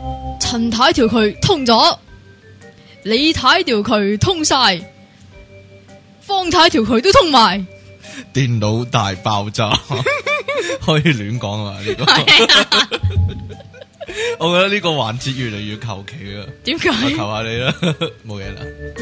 陳太條渠通咗，李太條渠通晒，方太條渠都通埋。 電腦大爆炸，可以亂講啊呢個。我覺得呢個環節越嚟越求其啊。 點解？ 我求下你啦，冇嘢啦。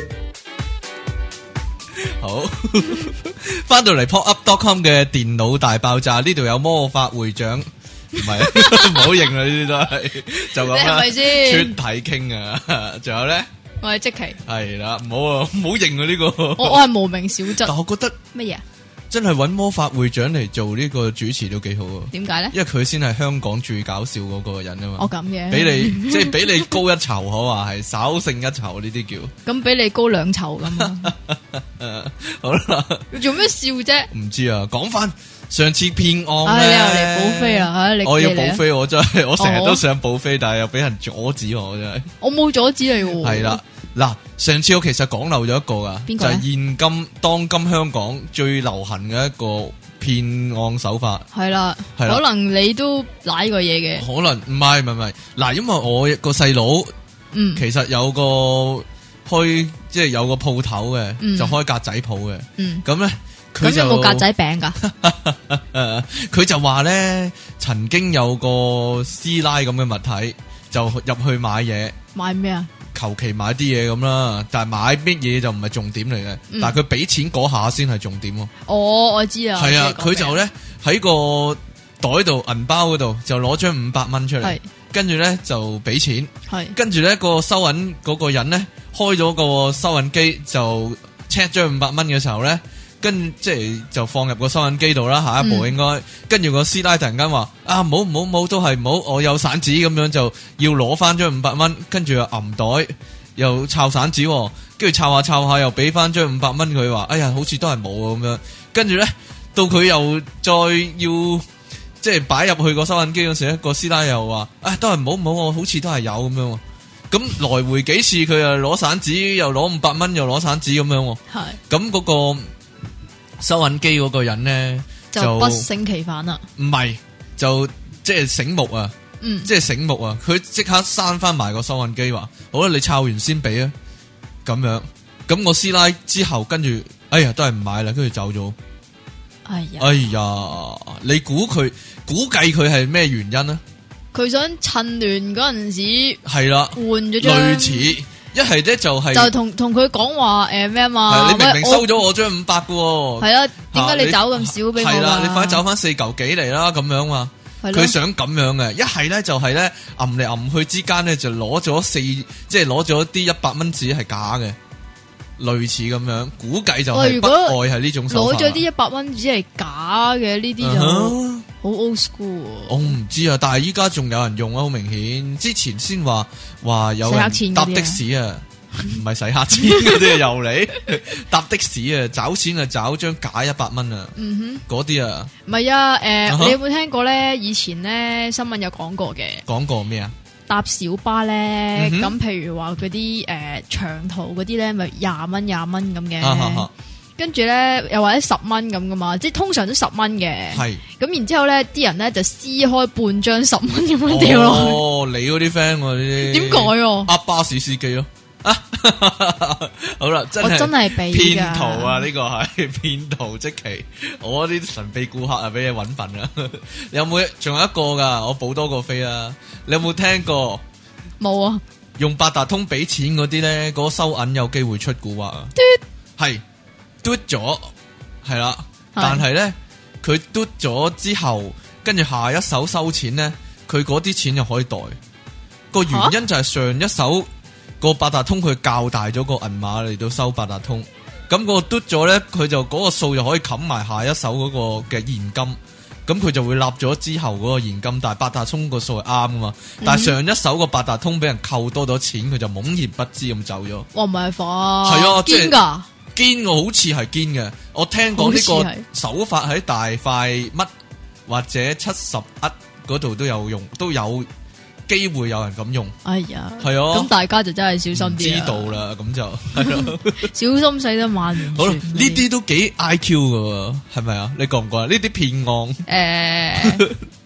好，翻到嚟 popup.com 嘅電腦大爆炸，呢度有魔法會長，唔係，唔好認啦，呢啲都係就咁啦， 係咪先出體傾啊，仲有咧， 我係積淇， 係啦，唔好啊，唔好認啊呢個， 我係無名小卒。 但我覺得乜嘢？ 真係搵魔法會長嚟做呢個主持都幾好啊！ 點解咧？ 因為佢先係香港最搞笑嗰個人啊嘛。 我咁嘅， 俾你即係俾你高一籌，可話係稍勝一籌呢啲叫。 咁俾你高兩籌咁啊！ 好啦， 做咩笑啫？ 唔知啊，講翻上次騙案你咧， 又嚟補飛啦！你我要補飛， 飛，我真係我成日都想補飛，但係又俾人阻止我真係。 我冇阻止你喎。 係啦，嗱，上次我其實講漏咗一個噶， 邊個咧？ 就係現今當今香港最流行嘅一個騙案手法。 係啦， 係啦可能你都舐過嘢嘅。 可能唔係，嗱，因為我個細佬，其實有個開即係有個鋪頭嘅，就開格仔鋪嘅，咁咧佢就有冇格仔餅噶？ 佢就話咧，曾經有個師奶咁嘅物體就入去買嘢， 買咩啊？ 求其買啲嘢咁啦，但係買乜嘢就唔係重點嚟嘅，但係佢俾錢嗰下先係重點喎。 哦，我知啊。 係啊，佢就咧喺個袋度銀包嗰度就攞張500蚊出嚟，跟住咧就俾錢，跟住咧個收銀嗰個人咧開咗個收銀機就 check 張500蚊嘅時候咧，即係就放入個收銀機度啦，下一步應該，跟住個師奶突然間話啊，唔好都係唔好，我有散紙咁樣就要攞翻張500蚊，跟住又揞袋又抄散紙，跟住抄下又俾翻張500蚊佢，話哎呀好似都係冇咁樣，跟住咧到佢又再要即係擺入去個收銀機嗰時咧，個師奶又話啊都係唔好，我好似都係有咁樣，咁來回幾次佢又攞散紙又攞500蚊又攞散紙咁樣，咁嗰個收銀機嗰個人咧就不勝其煩啦， 唔係就即係醒目啊，即係醒目啊，佢即刻閂翻埋個收銀機話好啦，你抄完先俾啊，咁樣，咁我師奶之後跟住哎呀都係唔買啦，跟住走咗。哎呀，你估計佢係咩原因呢？ 佢想趁亂嗰陣時係啦， 換咗張類似一係咧就係就同佢講話咩啊嘛， 你明明收咗我張500嘅喎， 係啦，點解你走咁少俾我？ 係啦，你快走翻4嚿幾嚟啦，咁樣嘛，佢想咁樣嘅，一係咧就係咧揞嚟揞去之間咧就攞咗即係攞咗啲100蚊紙係假嘅。類似咁樣，估計就係不外係呢種手法。 攞咗啲100蚊紙係假嘅，呢啲就好 old school。 我唔知啊，但係依家仲有人用啊，好明顯。之前先話有人搭的士啊，唔係洗黑錢嗰啲又嚟搭的士啊，找錢啊找張假100蚊啊，嗰啲啊。 唔係啊，你有冇聽過咧？以前咧新聞有講過嘅。 講過咩啊？ 搭小巴咧，咁譬如話嗰啲長途嗰啲咧，咪20蚊咁嘅，跟住咧又或者10蚊咁噶嘛，即係通常都10蚊嘅。係咁然之後咧，啲人咧就撕開半張10蚊咁樣掉落去。 哦，你嗰啲 friend 呢啲點解？ 呃巴士司機咯。好啦，真係俾騙徒啊！呢個係騙徒，即其我啲神秘顧客啊，俾你搵笨啊！你有冇？仲有一個噶，我補多個飛啊！你有冇聽過？ 冇啊！ 用八達通俾錢嗰啲咧，嗰個收銀有機會出蠱惑啊！係嘟咗，係啦，但係咧佢嘟咗之後，跟住下一手收錢咧，佢嗰啲錢就可以袋。個原因就係上一手。個八達通佢較大咗個銀碼嚟到收八達通，咁個嘟咗咧，佢就嗰個數就可以冚埋下一手嗰個嘅現金，咁佢就會立咗之後嗰個現金，但係八達通個數係啱噶嘛，但係上一手個八達通俾人扣多咗錢，佢就懵然不知咁走咗。 哇，唔係化係啊， 堅噶堅，我好似係堅嘅，我聽講呢個手法喺大塊乜或者71嗰度都有用，都有機會有人咁用。哎呀，係啊， 咁大家就真係小心啲。 知道啦，咁就係咯， 小心使得萬年船。 好啦，呢啲都幾 IQ 噶，係咪啊？你覺唔覺啊？呢啲騙案，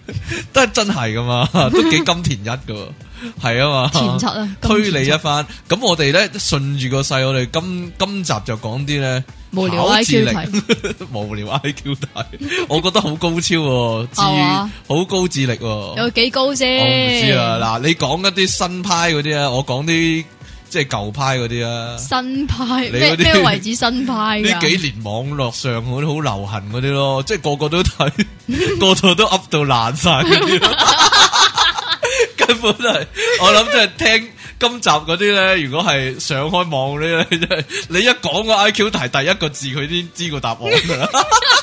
都係真係噶嘛，都幾金田一噶，係啊嘛。 前七啊， 推理一番。咁我哋咧順住個勢，我哋今集就講啲咧無聊 IQ 題， 無聊 IQ 題，我覺得好高超，好高智力。 有幾高先？ 我唔知啊。嗱，你講一啲新派嗰啲啊，我講啲即係舊派嗰啲啊。 新派咩為止新派？ 呢幾年網絡上嗰啲好流行嗰啲咯，即係個個都睇，個個都噏到爛晒嗰啲，根本係我諗即係聽今集嗰啲咧，如果係上開網嗰啲咧，即係你一講個 IQ 題第一個字，佢先知個答案噶啦。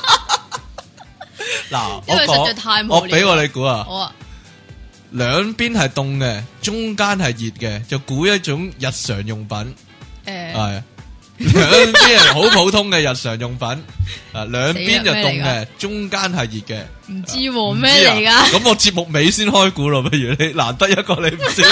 嗱，我俾我你估啊。好啊。兩邊係凍嘅，中間係熱嘅，就估一種日常用品。係兩邊係好普通嘅日常用品。啊，兩邊就凍嘅，中間係熱嘅。 唔知咩嚟噶？ 咁我節目尾先開估咯，不如你難得一個你唔知，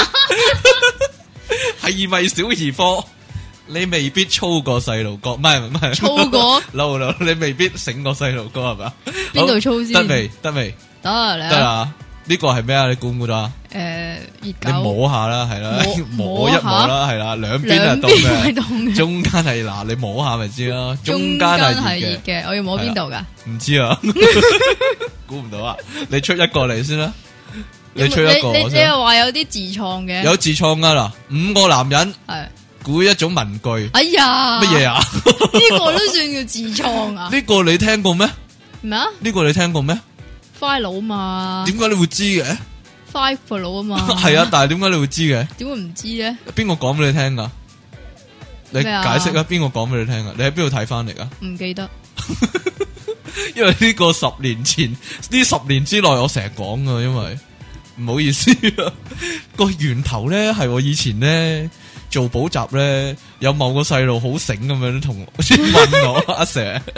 係咪小兒科？你未必粗過細路哥，唔係粗過 ，no，你未必醒過細路哥係嘛？ 邊度粗先？ 得未？得啦。呢個係咩啊？你估唔估到啊？ 熱狗。 你摸下啦，係啦，摸一摸啦，係啦，兩邊係凍嘅，中間係嗱，你摸下咪知啦。中間係熱嘅， 我要摸邊度噶？ 唔知啊，估唔到啊！你出一個嚟先啦，你出一個。 你又話有啲自創嘅？ 有自創噶啦，5個男人係估一種文具。 哎呀， 乜嘢啊？ 呢個都算叫自創啊？ 呢個你聽過咩？ 咩啊？ 呢個你聽過咩 ？file 嘛？ 點解你會知嘅 ？file 啊嘛？ 係啊，但係點解你會知嘅？ 點會唔知咧？ 邊個講俾你聽噶？你解釋啊！邊個講俾你聽噶？你喺邊度睇翻嚟噶？ 唔記得。 因為呢個10年前，呢10年之內我成日講噶，因為唔好意思啊，個源頭咧係我以前咧做補習咧，有某個細路好醒咁樣同問我阿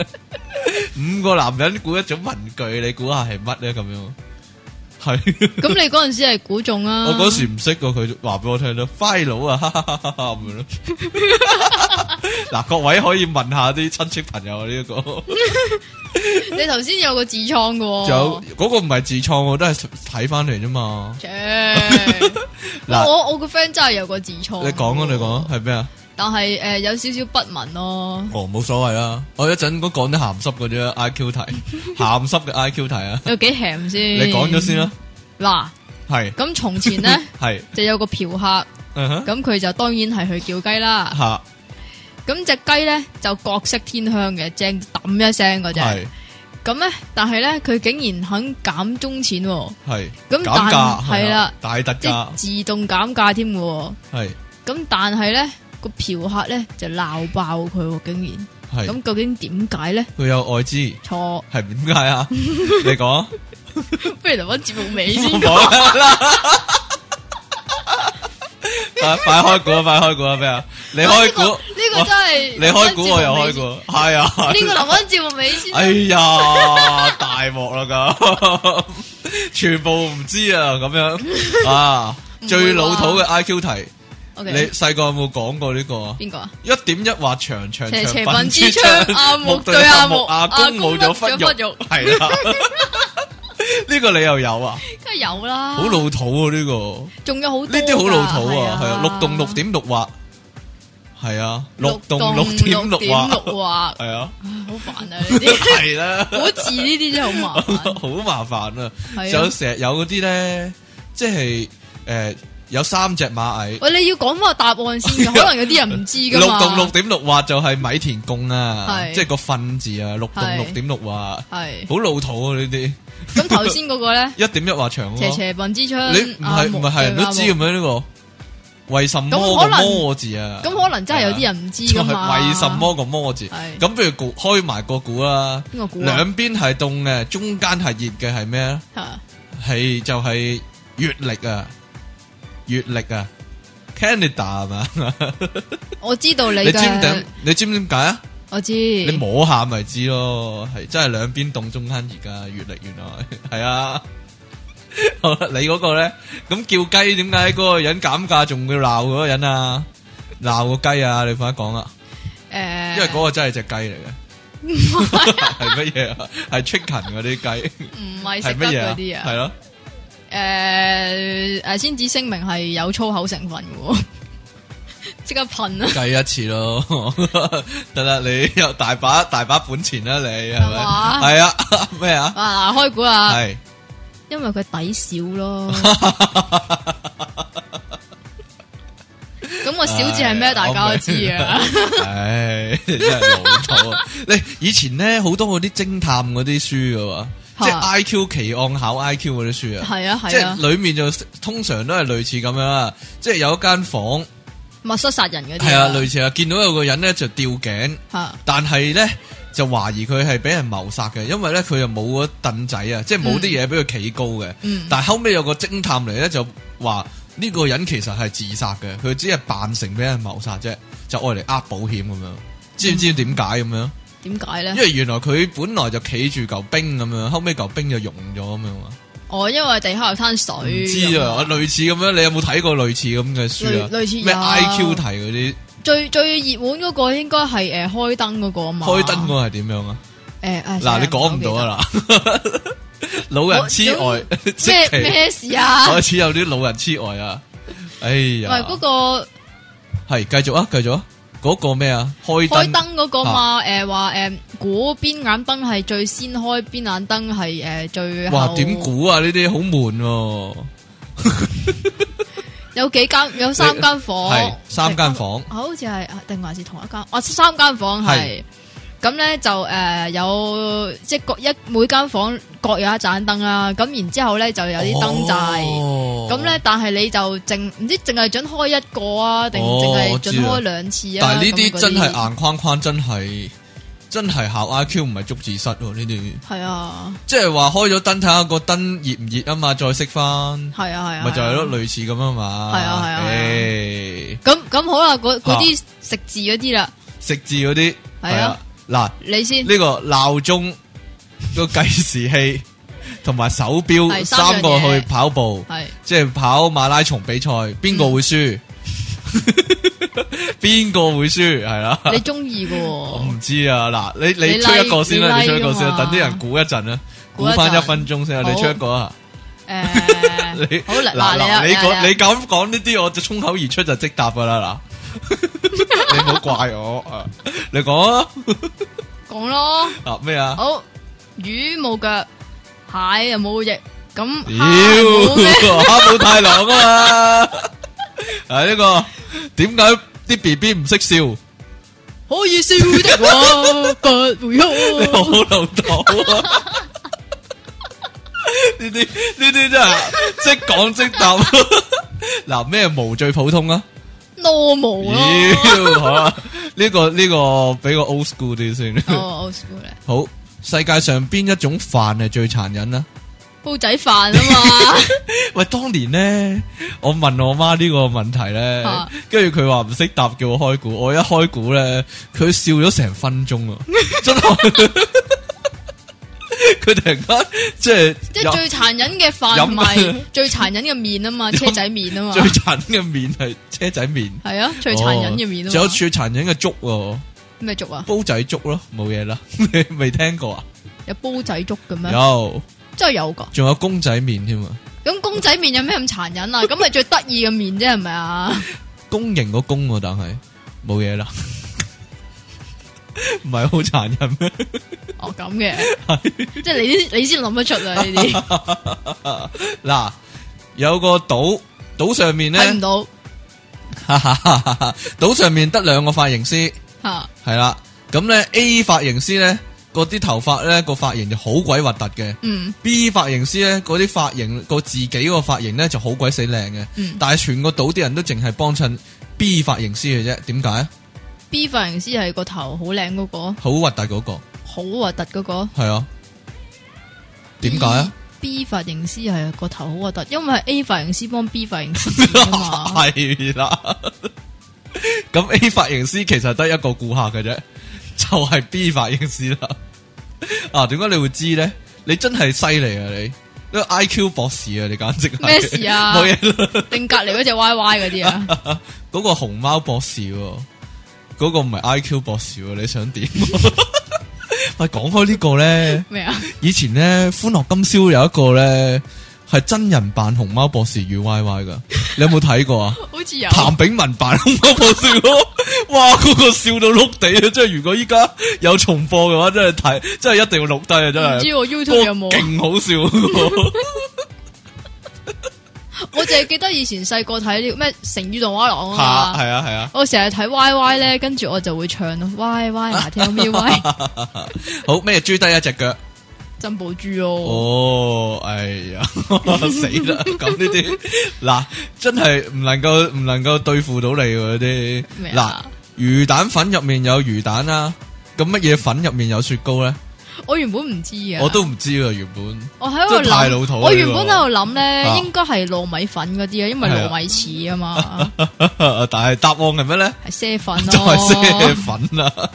Sir。5個男人估一種文具，你估下係乜咧？咁樣係。咁你嗰陣時係估中啊？ 我嗰時唔識噶，佢話俾我聽咯 ，file 啊，咁樣咯。嗱，各位可以問下啲親戚朋友呢一個。 你頭先有個自創噶？ 有嗰個唔係自創，我都係睇翻嚟啫嘛。 嗱，我個 friend 真係有個自創。 你講啊，你講係咩啊？ 但係有少少不文咯。 哦，冇所謂啦。我一陣講啲鹹濕嗰啲 IQ 題，鹹濕嘅 IQ 題啊。 有幾鹹先？ 你講咗先啦。 嗱， 係咁從前咧， 係就有個嫖客，咁佢就當然係去叫雞啦。 吓， 咁隻雞咧就各色天香嘅，正揼一聲嗰隻。係咁咧，但係咧佢竟然肯減中錢。係咁減價係啦， 大特價， 即自動減價添嘅。係咁，但係咧。個嫖客咧就鬧爆佢，竟然咁究竟點解咧？佢有愛滋？錯，係點解啊？你講，不如留翻節目尾先講啦。快開估啊！快開估啊！咩啊？你開估？呢個真係你開估，我又開估，係啊？呢個留翻節目尾先。哎呀，大鑊啦咁，全部唔知啊！咁樣啊，最老土嘅 IQ 題。Okay. 你細個有冇講過呢個啊？邊個啊？1.1畫長長長笨豬槍，阿木對阿木，阿公冇咗忽肉，係啦。呢個你又有啊？梗係有啦。好老土啊！呢個仲有好多呢啲好老土啊，係啊。6棟6.6畫，係啊。6棟6.6畫，係啊。好煩啊！呢啲係啦，好字呢啲真係好麻煩，好麻煩啊！有成日有嗰啲咧，即係有3隻螞蟻。喂，你要講翻個答案先，可能有啲人唔知噶嘛。6棟6.6畫就係米田共啊，即係個糞字啊。6棟6.6畫係好老土啊呢啲。咁頭先嗰個咧，1.1畫長。斜斜笨之槍，你唔係人都知咁樣呢個？為什麼個魔字啊？咁可能真係有啲人唔知噶嘛。為什麼個魔字？咁不如開埋個估啦。邊個估？兩邊係凍嘅，中間係熱嘅係咩啊？係就係月曆啊。月曆啊 ，Canada 係嘛？我知道你知唔知點解啊？我知，你摸下咪知咯，係真係兩邊凍中間熱噶月曆，原來係啊。你嗰個咧，咁叫雞點解嗰個人減價仲要鬧嗰個人啊？鬧個雞啊！你快啲講啦，因為嗰個真係隻雞嚟嘅。 係乜嘢啊？係 chicken 嗰啲雞， 唔係食得嗰啲啊？ 係咯。 先至聲明係有粗口成分嘅，即刻噴啊！ 計一次咯，得啦，你有大把本錢啦，你係咪？係啊，咩啊？ 嗱，開估啦， 係因為佢抵少咯。咁個小字係咩？大家都知啊。 唉，真係老土啊！你以前咧好多嗰啲偵探嗰啲書噶嘛。即係 I.Q. 奇案考 I.Q. 嗰啲書啊， 係啊， 即係裏面就通常都係類似咁樣啦，即係有一間房密室殺人嗰啲， 係啊，類似啊，見到有個人咧就吊頸，但係咧就懷疑佢係俾人謀殺嘅，因為咧佢又冇嗰凳仔啊，即係冇啲嘢俾佢企高嘅，但係後尾有個偵探嚟咧就話呢個人其實係自殺嘅，佢只係扮成俾人謀殺啫，就愛嚟呃保險咁樣，知唔知點解咁樣？ 點解咧？ 因為原來佢本來就企住嚿冰咁樣，後尾嚿冰就溶咗咁樣啊！ 哦，因為地下有灘水。唔知啊，類似咁樣，你有冇睇過類似咁嘅書啊？ 類似咩 I.Q. 題嗰啲？ 最熱門嗰個應該係開燈嗰個啊嘛。開燈嗰個係點樣啊？嗱，你講唔到啊啦！老人痴呆咩事啊？ 開始有啲老人痴呆啊！哎呀， 喂，嗰個係繼續啊，繼續啊！嗰個咩啊？開燈嗰個嘛？話估邊眼燈係最先開，邊眼燈係最後。哇！ 點估啊？呢啲好悶。 有三間房， 係3間房， 好似係定還是同一間？3間房係。咁咧就有即係每間房各有一盞燈啦。咁然之後咧就有啲燈掣。咁咧但係你就唔知淨係准開一個啊，定淨係准開2次啊？ 但係呢啲真係硬框框，真係考 I.Q. 唔係捉字蝨呢啲。係啊，即係話開咗燈睇下個燈熱唔熱啊嘛，再熄翻。係啊，咪就係咯，類似咁啊嘛。係啊。 咁好啦，嗰啲食字嗰啲啦。食字嗰啲係啊。嗱， 你先呢個鬧鐘、個計時器同埋手錶3個去跑步，即係跑馬拉松比賽，邊個會輸？邊個會輸？係啦， 你中意嘅？ 我唔知啊。嗱，你出一個先啦，你出一個先，等啲人估一陣啦，估翻1分鐘先啊。你出一個啊？你好嗱，你咁講呢啲，我就衝口而出就即答噶啦嗱。你唔好怪我啊！你講啊， 講咯。 啊咩啊？ 好，魚冇腳，蟹又冇翼，咁蝦冇太郎啊嘛。係呢個點解啲 BB 唔識笑？ 可以笑的話不會哭。 你好老土啊！呢啲真係即講即答。嗱，咩毛最普通啊 ？normal 咯， 好啦，呢個俾個 old school 啲先。 old school 咧。 好，世界上邊一種飯係最殘忍啊？ 煲仔飯啊嘛。 喂，當年咧，我問我媽呢個問題咧，跟住佢話唔識答，叫我開估。我一開估咧，佢笑咗成分鐘啊！真係，佢突然間即係最殘忍嘅飯，唔係最殘忍嘅麵啊嘛，車仔麵啊嘛。 最殘忍嘅麵係車仔麵。係啊， 最殘忍嘅麵啊嘛。 仲有最殘忍嘅粥喎。 咩粥啊？ 煲仔粥咯，冇嘢啦。你未聽過啊？ 有煲仔粥嘅咩？ 有， 真係有噶。 仲有公仔麵添啊！ 咁公仔麵有咩咁殘忍啊？咁係最得意嘅麵啫，係咪啊？ 公營個公，但係冇嘢啦。唔係好殘忍咩？ 哦，咁嘅，即係你先諗得出啊！呢啲嗱，有個島上面咧睇唔到， 島上面得2個髮型師，係啦，咁咧 A 髮型師咧，嗰啲頭髮咧個髮型就好鬼核突嘅，B 髮型師咧嗰啲髮型個自己個髮型咧就好鬼死靚嘅，但係全個島啲人都淨係幫襯 B 髮型師嘅啫，點解？B 髮型師係個頭好靚嗰個， 好核突嗰個， 好核突嗰個，係啊？點解啊 ？B 髮型師係個頭好核突，因為係 A 髮型師幫 B 髮型師啊嘛。 係啦，咁 A 髮型師其實得一個顧客嘅啫，就係 B 髮型師啦。啊，點解你會知咧？你真係犀利啊！你呢個 IQ 博士啊！你簡直係咩事啊？ 冇嘢啦。 定隔籬嗰隻 YY 嗰啲啊？ 嗰個熊貓博士，嗰個唔係 IQ 博士，你想點？ 喂，講開呢個咧， 咩啊？ 以前咧《歡樂今宵》有一個咧係真人扮熊貓博士與 Y Y 噶，你有冇睇過啊？ 好似有譚炳文扮熊貓博士咯，哇！嗰個笑到碌地啊！即係如果依家有重播嘅話，真係睇，真係一定要錄低啊！真係。 唔知我 YouTube 有冇？ 勁好笑。 我淨係記得以前細個睇呢個咩成語動畫廊啊嘛， 係啊係啊， 我成日睇 Y Y 咧，跟住我就會唱咯 Y Y 嗱，tell me why。 好咩？豬低一隻腳， 珍寶豬哦。 哦，哎呀，死啦！咁呢啲嗱，真係唔能夠對付到你嗰啲。嗱，魚蛋粉入面有魚蛋啦，咁乜嘢粉入面有雪糕咧？ 我原本唔知啊， 我都唔知啊，原本我喺度諗， 太老土。 我原本喺度諗咧，應該係糯米粉嗰啲啊，因為糯米糍啊嘛。 但係答案係咩咧？ 係啡粉咯， 就係啡粉啊！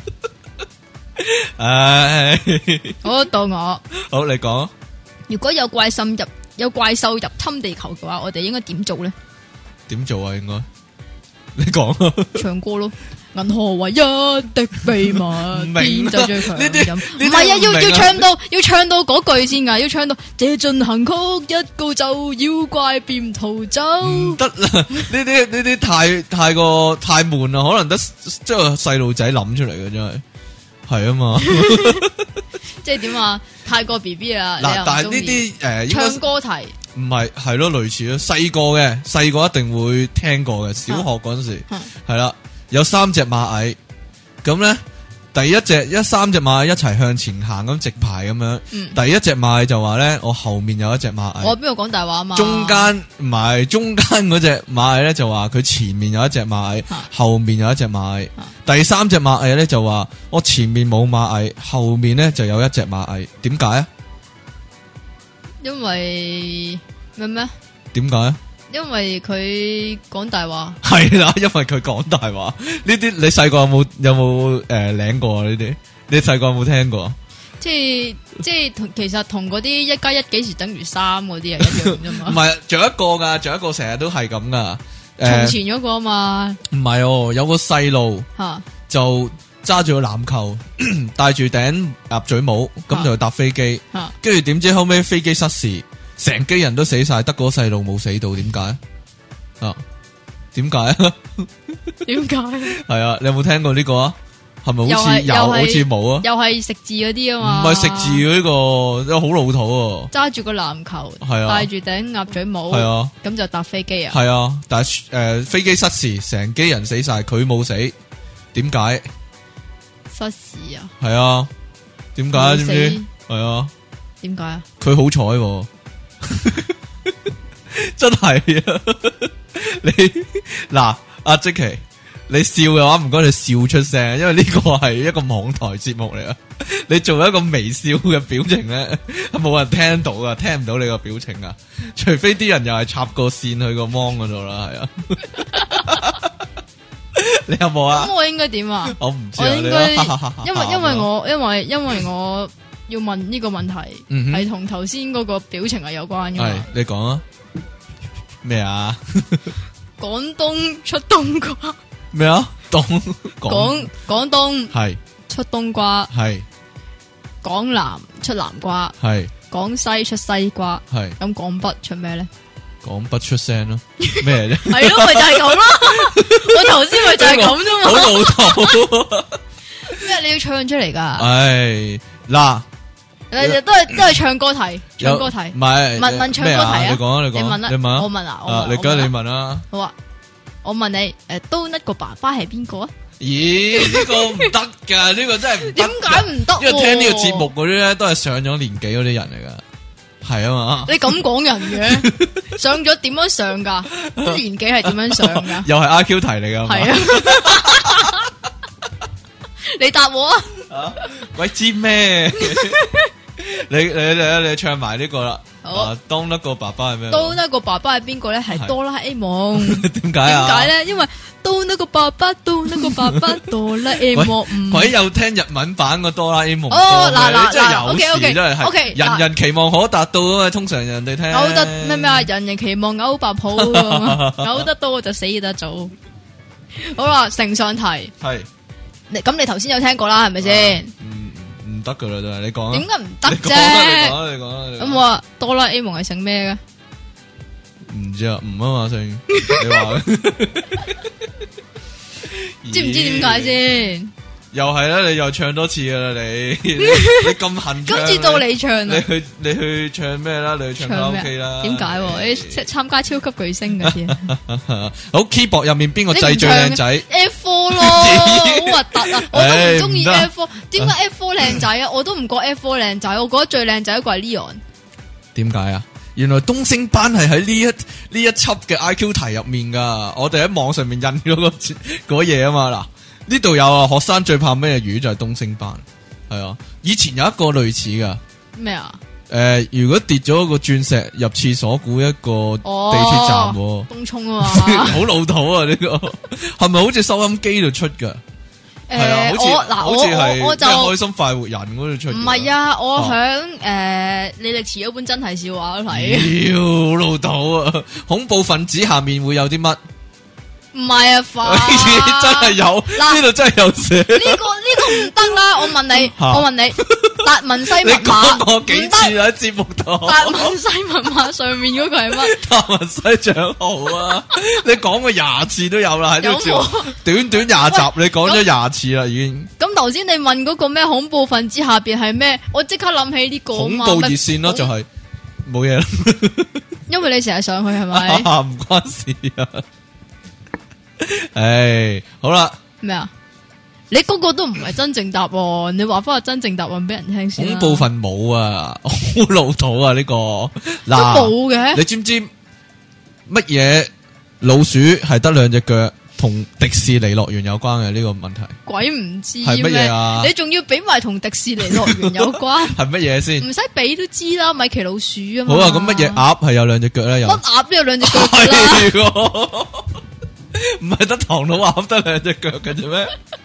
唉， 好到我， 好你講。 如果有怪獸入侵地球嘅話，我哋應該點做咧？ 點做啊？應該你講啊！ 唱歌咯。銀河唯一的秘密，邊就最強？ 呢啲唔係啊，要唱到嗰句先噶，要唱到這進行曲一告就妖怪便逃走。 唔得啦，呢啲太過太悶啦，可能得即係細路仔諗出嚟嘅，真係係啊嘛。 即係點啊？太過 BB 啊！ 嗱，但係呢啲唱歌題唔係咯，類似咯，細個一定會聽過嘅，小學嗰陣時係啦。有3隻螞蟻，咁咧第一隻3隻螞蟻一齊向前行咁直排咁樣，第一隻螞蟻就話咧，我後面有一隻螞蟻。我邊度講大話啊嘛？ 中間嗰隻螞蟻咧就話佢前面有一隻螞蟻，後面有一隻螞蟻。第3隻螞蟻咧就話我前面冇螞蟻，後面咧就有一隻螞蟻。點解啊？因為咩？ 點解啊？ 因為佢講大話， 係啦，因為佢講大話。呢啲你細個有冇領過呢啲？你細個有冇聽過？即係其實同嗰啲1+1幾時等於3嗰啲係一樣啫嘛。 唔係，仲有一個成日都係咁噶。 從前嗰個啊嘛。 唔係哦，有個細路就揸住個籃球，戴住頂鴨嘴帽，咁就搭飛機。跟住點知後尾飛機失事。成機人都死晒，得嗰細路冇死到，點解啊？點解啊？ 點解？ 係啊，你有冇聽過呢個啊？係咪好似有，好似冇啊？ 又係食字嗰啲啊嘛？ 唔係食字呢個，好老土。 揸住個籃球，係啊，戴住頂鴨嘴帽，係啊，咁就搭飛機啊？ 係啊，但係飛機失事，成機人死晒，佢冇死，點解？ 失事啊？ 係啊，點解？知唔知？係啊， 點解啊？ 佢好彩。真係啊！你嗱阿積淇，你笑嘅話唔該你笑出聲，因為呢個係一個網台節目嚟啊！你做一個微笑嘅表情咧，冇人聽到噶，聽唔到你個表情啊！除非啲人又係插個線去個芒嗰度啦，係啊！你有冇啊？ 咁我應該點啊？ 我唔知啊， 我應該因為我。要問呢個問題係同頭先嗰個表情係有關嘅。係你講啊？咩啊？ 廣東出冬瓜咩啊？ 廣東係出冬瓜係廣南出南瓜係廣西出西瓜係咁廣北出咩咧？ 廣北出聲咯，咩啫？ 係咯，咪就係咁咯。我頭先咪就係咁啫嘛。 好老土咩？你要唱出嚟噶？ 唉嗱。 都係唱歌題，唱歌題， 唔係問唱歌題啊！ 你講啊， 你問啦， 你問啊， 我問啊， 你而家你問啦。 好啊，我問你，都一個爸爸係邊個啊？ 咦，呢個唔得噶，呢個真係唔得。 點解唔得？ 因為聽呢個節目嗰啲咧，都係上咗年紀嗰啲人嚟噶，係啊嘛。 你咁講人嘅，上咗點樣上噶？年紀係點樣上噶？ 又係 IQ 題嚟噶，係啊。 你答我啊！鬼知咩？你唱埋呢個啦。當一個爸爸係咩？當一個爸爸係邊個咧？係哆啦 A 夢。點解啊？點解咧？因為當一個爸爸，當一個爸爸，哆啦 A 夢。鬼有聽日文版個哆啦 A 夢。哦，嗱，真係有事，真係。人人期望可達到啊嘛，通常人哋聽。嘔得咩啊？人人期望嘔白泡，嘔得多就死得早。好啦，承上題。係。你頭先有聽過啦，係咪先？唔唔得噶啦，都係你講。 點解唔得啫？ 你講。 咁我哆啦 A 夢係姓咩嘅？ 唔知啊，唔啊嘛姓。你話知唔知點解先？ 又係啦，你又唱多次噶啦，你咁恨唱。 今次到你唱啦。 你去唱咩啦？你去唱卡拉 OK 啦？ 點解？你參加超級巨星嗰啲啊？ 好 keyboard 入面邊個掣最靚仔 ？F4 咯，好核突啊！我都唔中意 F4。點解 F4 靚仔啊？我都唔覺 F4 靚仔，我覺得最靚仔一個係 Leon。點解啊？原來東星班係喺呢一輯嘅 IQ 題入面噶，我哋喺網上面印咗嗰嘢啊嘛。嗱，呢度有啊，學生最怕咩魚就係東星班，係啊。以前有一個類似噶咩啊？ 如果跌咗個鑽石入廁所，估一個地鐵站， 東涌啊嘛， 好老土啊！呢個係咪好似收音機度出噶？係啊，好似係即係開心快活人嗰度出。唔係啊，我響李力持嗰本真係笑話睇。 好老土啊！恐怖分子下面會有啲乜？ 唔係啊， 真係有，呢度真係有寫。 呢個唔得啦！我問你，達文西密碼， 你講過幾次喺節目度？ 達文西密碼上面嗰個係乜？ 達文西賬號啊！你講過20次都有啦，喺呢個節目短短20集，你講咗20次啦，已經。 咁頭先你問嗰個咩恐怖分子下邊係咩？我即刻諗起呢個恐怖熱線咯，就係冇嘢啦。 因為你成日上去係咪？ 唔關事啊。唉，好啦。咩啊？你嗰個都唔係真正答案，你話翻個真正答案俾人聽先。 恐怖份冇啊，好老土啊呢個。 都冇嘅。 你知唔知乜嘢老鼠係得2隻腳，同迪士尼樂園有關嘅呢個問題？ 鬼唔知係乜嘢啊？ 你仲要俾埋同迪士尼樂園有關？ 係乜嘢先？ 唔使俾都知啦，米奇老鼠啊嘛。 好啊，咁乜嘢鴨係有2隻腳咧？ 乜鴨都有2隻腳啦。 唔係得唐老鴨得2隻腳嘅啫咩？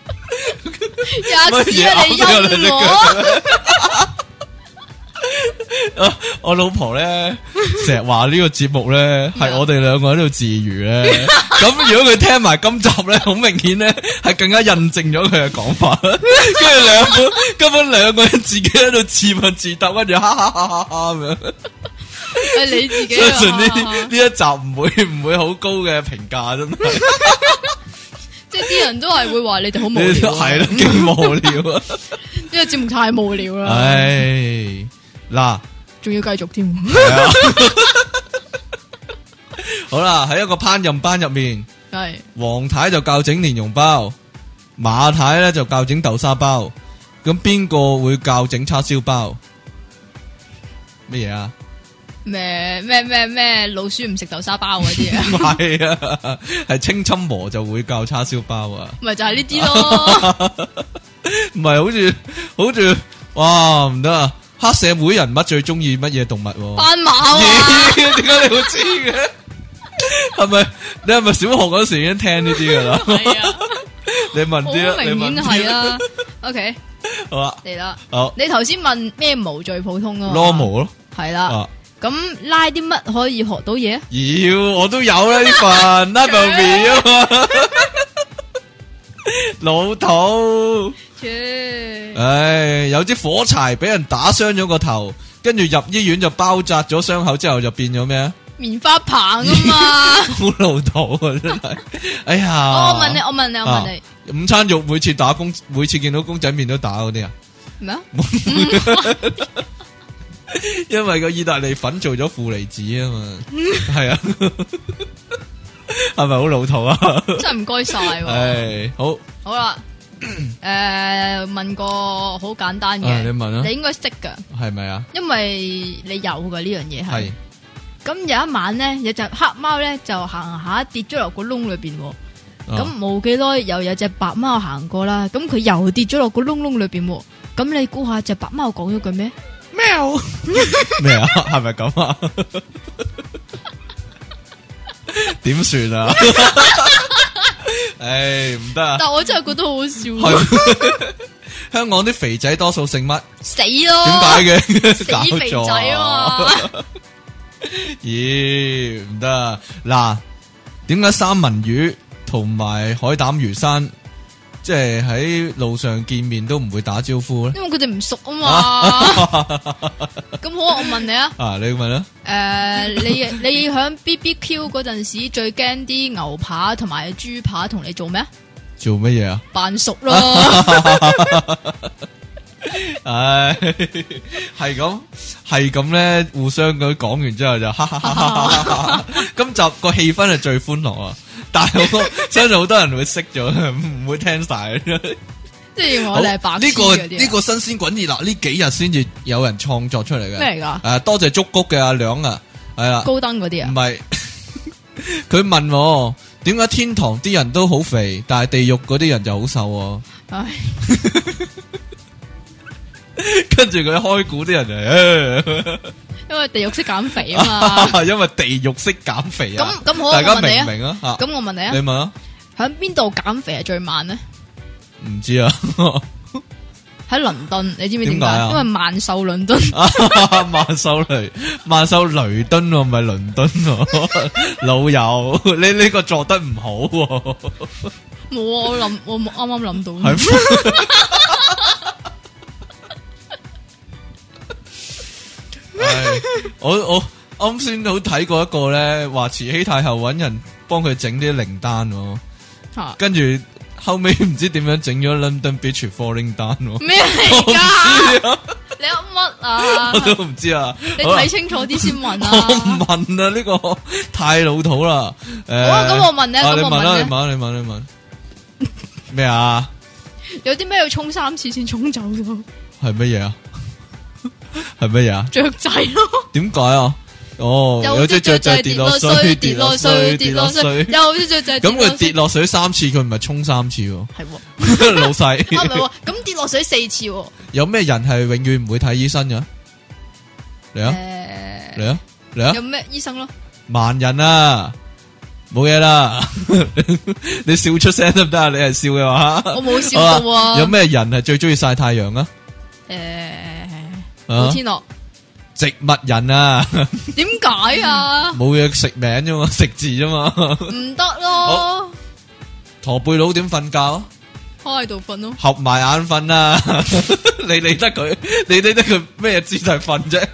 吔屎啊！你陰我老婆咧成日話呢個節目咧係我哋2個喺度自娛咧。咁如果佢聽埋今集咧，好明顯咧係更加印證咗佢嘅講法。跟住根本2個人自己喺度自問自答，跟住哈哈哈哈哈咁樣。 係你自己。 相信呢一集唔會好高嘅評價，真係。 即係啲人都係會話你哋好無聊。 係咯，勁無聊啊！ 呢個節目太無聊啦。 唉，嗱， 仲要繼續添。 好啦，喺一個烹飪班入面，係黃太就教整蓮蓉包，馬太咧就教整豆沙包，咁邊個會教整叉燒包？乜嘢啊？ 咩老鼠唔食豆沙包嗰啲啊？ 唔係啊，係清侵魔就會教叉燒包啊。 咪就係呢啲咯。 唔係好似哇唔得啊！黑社會人物最中意乜嘢動物？ 斑馬啊！ 點解你會知嘅？係咪你係咪小學嗰時已經聽呢啲噶啦？係啊。你問啲啦， 明顯係啦。OK， 好啦， 嚟啦。 好， 你頭先問咩毛最普通啊 ？normal 咯。 係啦。咁拉啲乜可以學到嘢？ 我都有啦呢份拉豆面啊嘛，老土。唉，有支火柴俾人打傷咗個頭，跟住入醫院就包紮咗傷口之後就變咗咩啊？ 棉花棒啊嘛， 好老土啊真係。哎呀， 我問你， 午餐肉每次見到公仔麵都打嗰啲啊？ 咩啊？ 因為個意大利粉做咗負離子啊嘛，係啊，係咪好老土啊？ 真係唔該晒。 唉， 好啦，問個好簡單嘅， 你問啊， 你應該識噶，係咪啊？ 因為你有噶呢樣嘢係。咁有一晚咧，有隻黑貓咧就行下跌咗落個窿裏邊，咁冇幾耐又有隻白貓行過啦，咁佢又跌咗落個窿裏邊，咁你估下隻白貓講咗句咩？喵咩啊？係咪咁啊？點算啊？唉，唔得啊！ 但我真係覺得好好笑。 香港啲肥仔多數姓乜？ 死咯！ 點解嘅？ 死肥仔啊嘛！ 咦，唔得啊！嗱，點解三文魚同埋海膽魚生即係喺路上見面都唔會打招呼咧？ 因為佢哋唔熟啊嘛。咁好，我問你啊。 你問啦。 你響 BBQ 嗰陣時最驚啲牛扒同埋豬扒同你做咩啊？ 做乜嘢啊？ 扮熟咯。 唉，係咁咧，互相咁講完之後就哈哈哈哈。今集個氣氛係最歡樂啊！但係我相信好多人會識咗，唔會聽晒。 即係我哋係白痴嗰啲。 呢個新鮮滾熱辣，呢幾日先至有人創作出嚟嘅。 咩嚟噶？ 多謝竹谷嘅阿梁啊，係啦。 高登嗰啲啊？唔係，佢問我點解天堂啲人都好肥，但係地獄嗰啲人就好瘦？唉。跟住佢開估啲人就， 因為地獄識減肥啊嘛。因為地獄識減肥啊。 咁好， 大家明唔明啊？ 咁我問你啊， 你問啊， 喺邊度減肥係最慢呢？ 唔知啊。 喺倫敦，你知唔知點解？因為萬壽倫敦。 萬壽雷敦唔係倫敦，老友，你呢個做得唔好。 冇啊，我啱啱諗到。 我啱先好睇過一個咧，話慈禧太后搵人幫佢整啲靈丹，跟住後尾唔知點樣整咗 London Bridge Falling Down。 咩嚟噶？你噏乜啊？ 我都唔知啊。 你睇清楚啲先問啊。 我唔問啊，呢個太老土啦。 好啊，咁我問你， 你問啦，你問咩啊？ 有啲咩要沖3次先沖走咗？ 係乜嘢啊？係乜嘢啊？ 雀仔咯。點解啊？有隻雀仔跌落水，跌落水，跌落水。 有隻雀仔咁佢跌落水3次，佢唔係沖3次喎。 係老細。 唔係，咁跌落水4次。 有咩人係永遠唔會睇醫生㗎？嚟啊！嚟啊！嚟啊！ 有咩醫生咯？ 盲人啊！冇嘢啦。你笑出聲得唔得啊？你係笑嘅話， 我冇笑到啊。 有咩人係最中意曬太陽啊？ 古天樂。 植物人啊？ 點解啊？ 冇嘢食名啫嘛，食字啫嘛。 唔得咯。 駝背佬點瞓覺啊？ 趴喺度瞓咯。 合埋眼瞓啊！你理得佢？你理得佢咩姿勢瞓啫？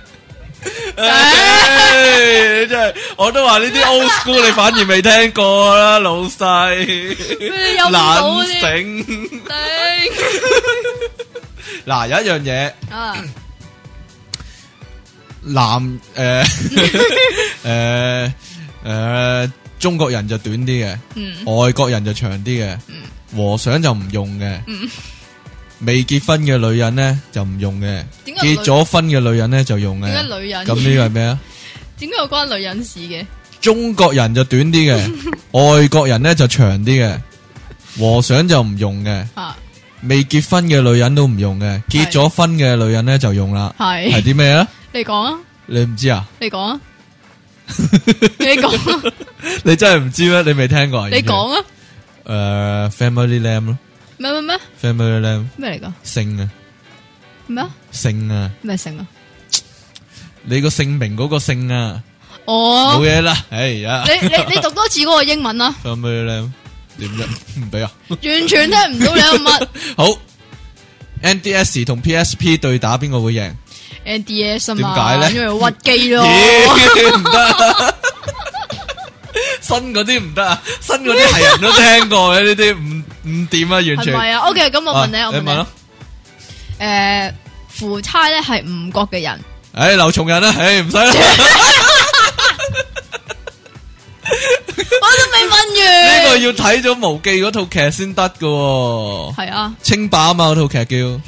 真係，我都話呢啲 old school 你反而未聽過啦，老細。懶醒。嗱，有一樣嘢。中國人就短啲嘅，外國人就長啲嘅，和尚就唔用嘅，未結婚嘅女人咧就唔用嘅，結咗婚嘅女人咧就用嘅。 點解女人？ 咁呢個係咩啊？ 點解有關女人事嘅？ 中國人就短啲嘅，外國人咧就長啲嘅，和尚就唔用嘅，未結婚嘅女人都唔用嘅，結咗婚嘅女人咧就用啦。係啲咩啊？你講啊！你唔知啊？你講啊！你講啊！你真係唔知咩？你未聽過啊？你講啊！Family Lamb 咯。咩？Family Lamb 咩嚟噶？姓啊！咩啊？姓啊！咩姓啊？你個姓名嗰個姓啊！哦，冇嘢啦。哎呀！你讀多次嗰個英文啊 ！Family Lamb 點啫？唔俾啊！完全聽唔到你有乜。好 ，NDS 同 PSP 對打邊個會贏？NDS 啊嘛，點解咧？因為屈機咯，唔得，新嗰啲唔得啊，新嗰啲係人都聽過嘅，呢啲唔掂啊，完全係咪啊 ？OK，咁我問你，我問你咯，夫差咧係吳國嘅人，劉松仁啦，唔使啦，我都未問完，呢個要睇咗無記嗰套劇先得噶，係啊，清霸啊嘛，嗰套劇叫。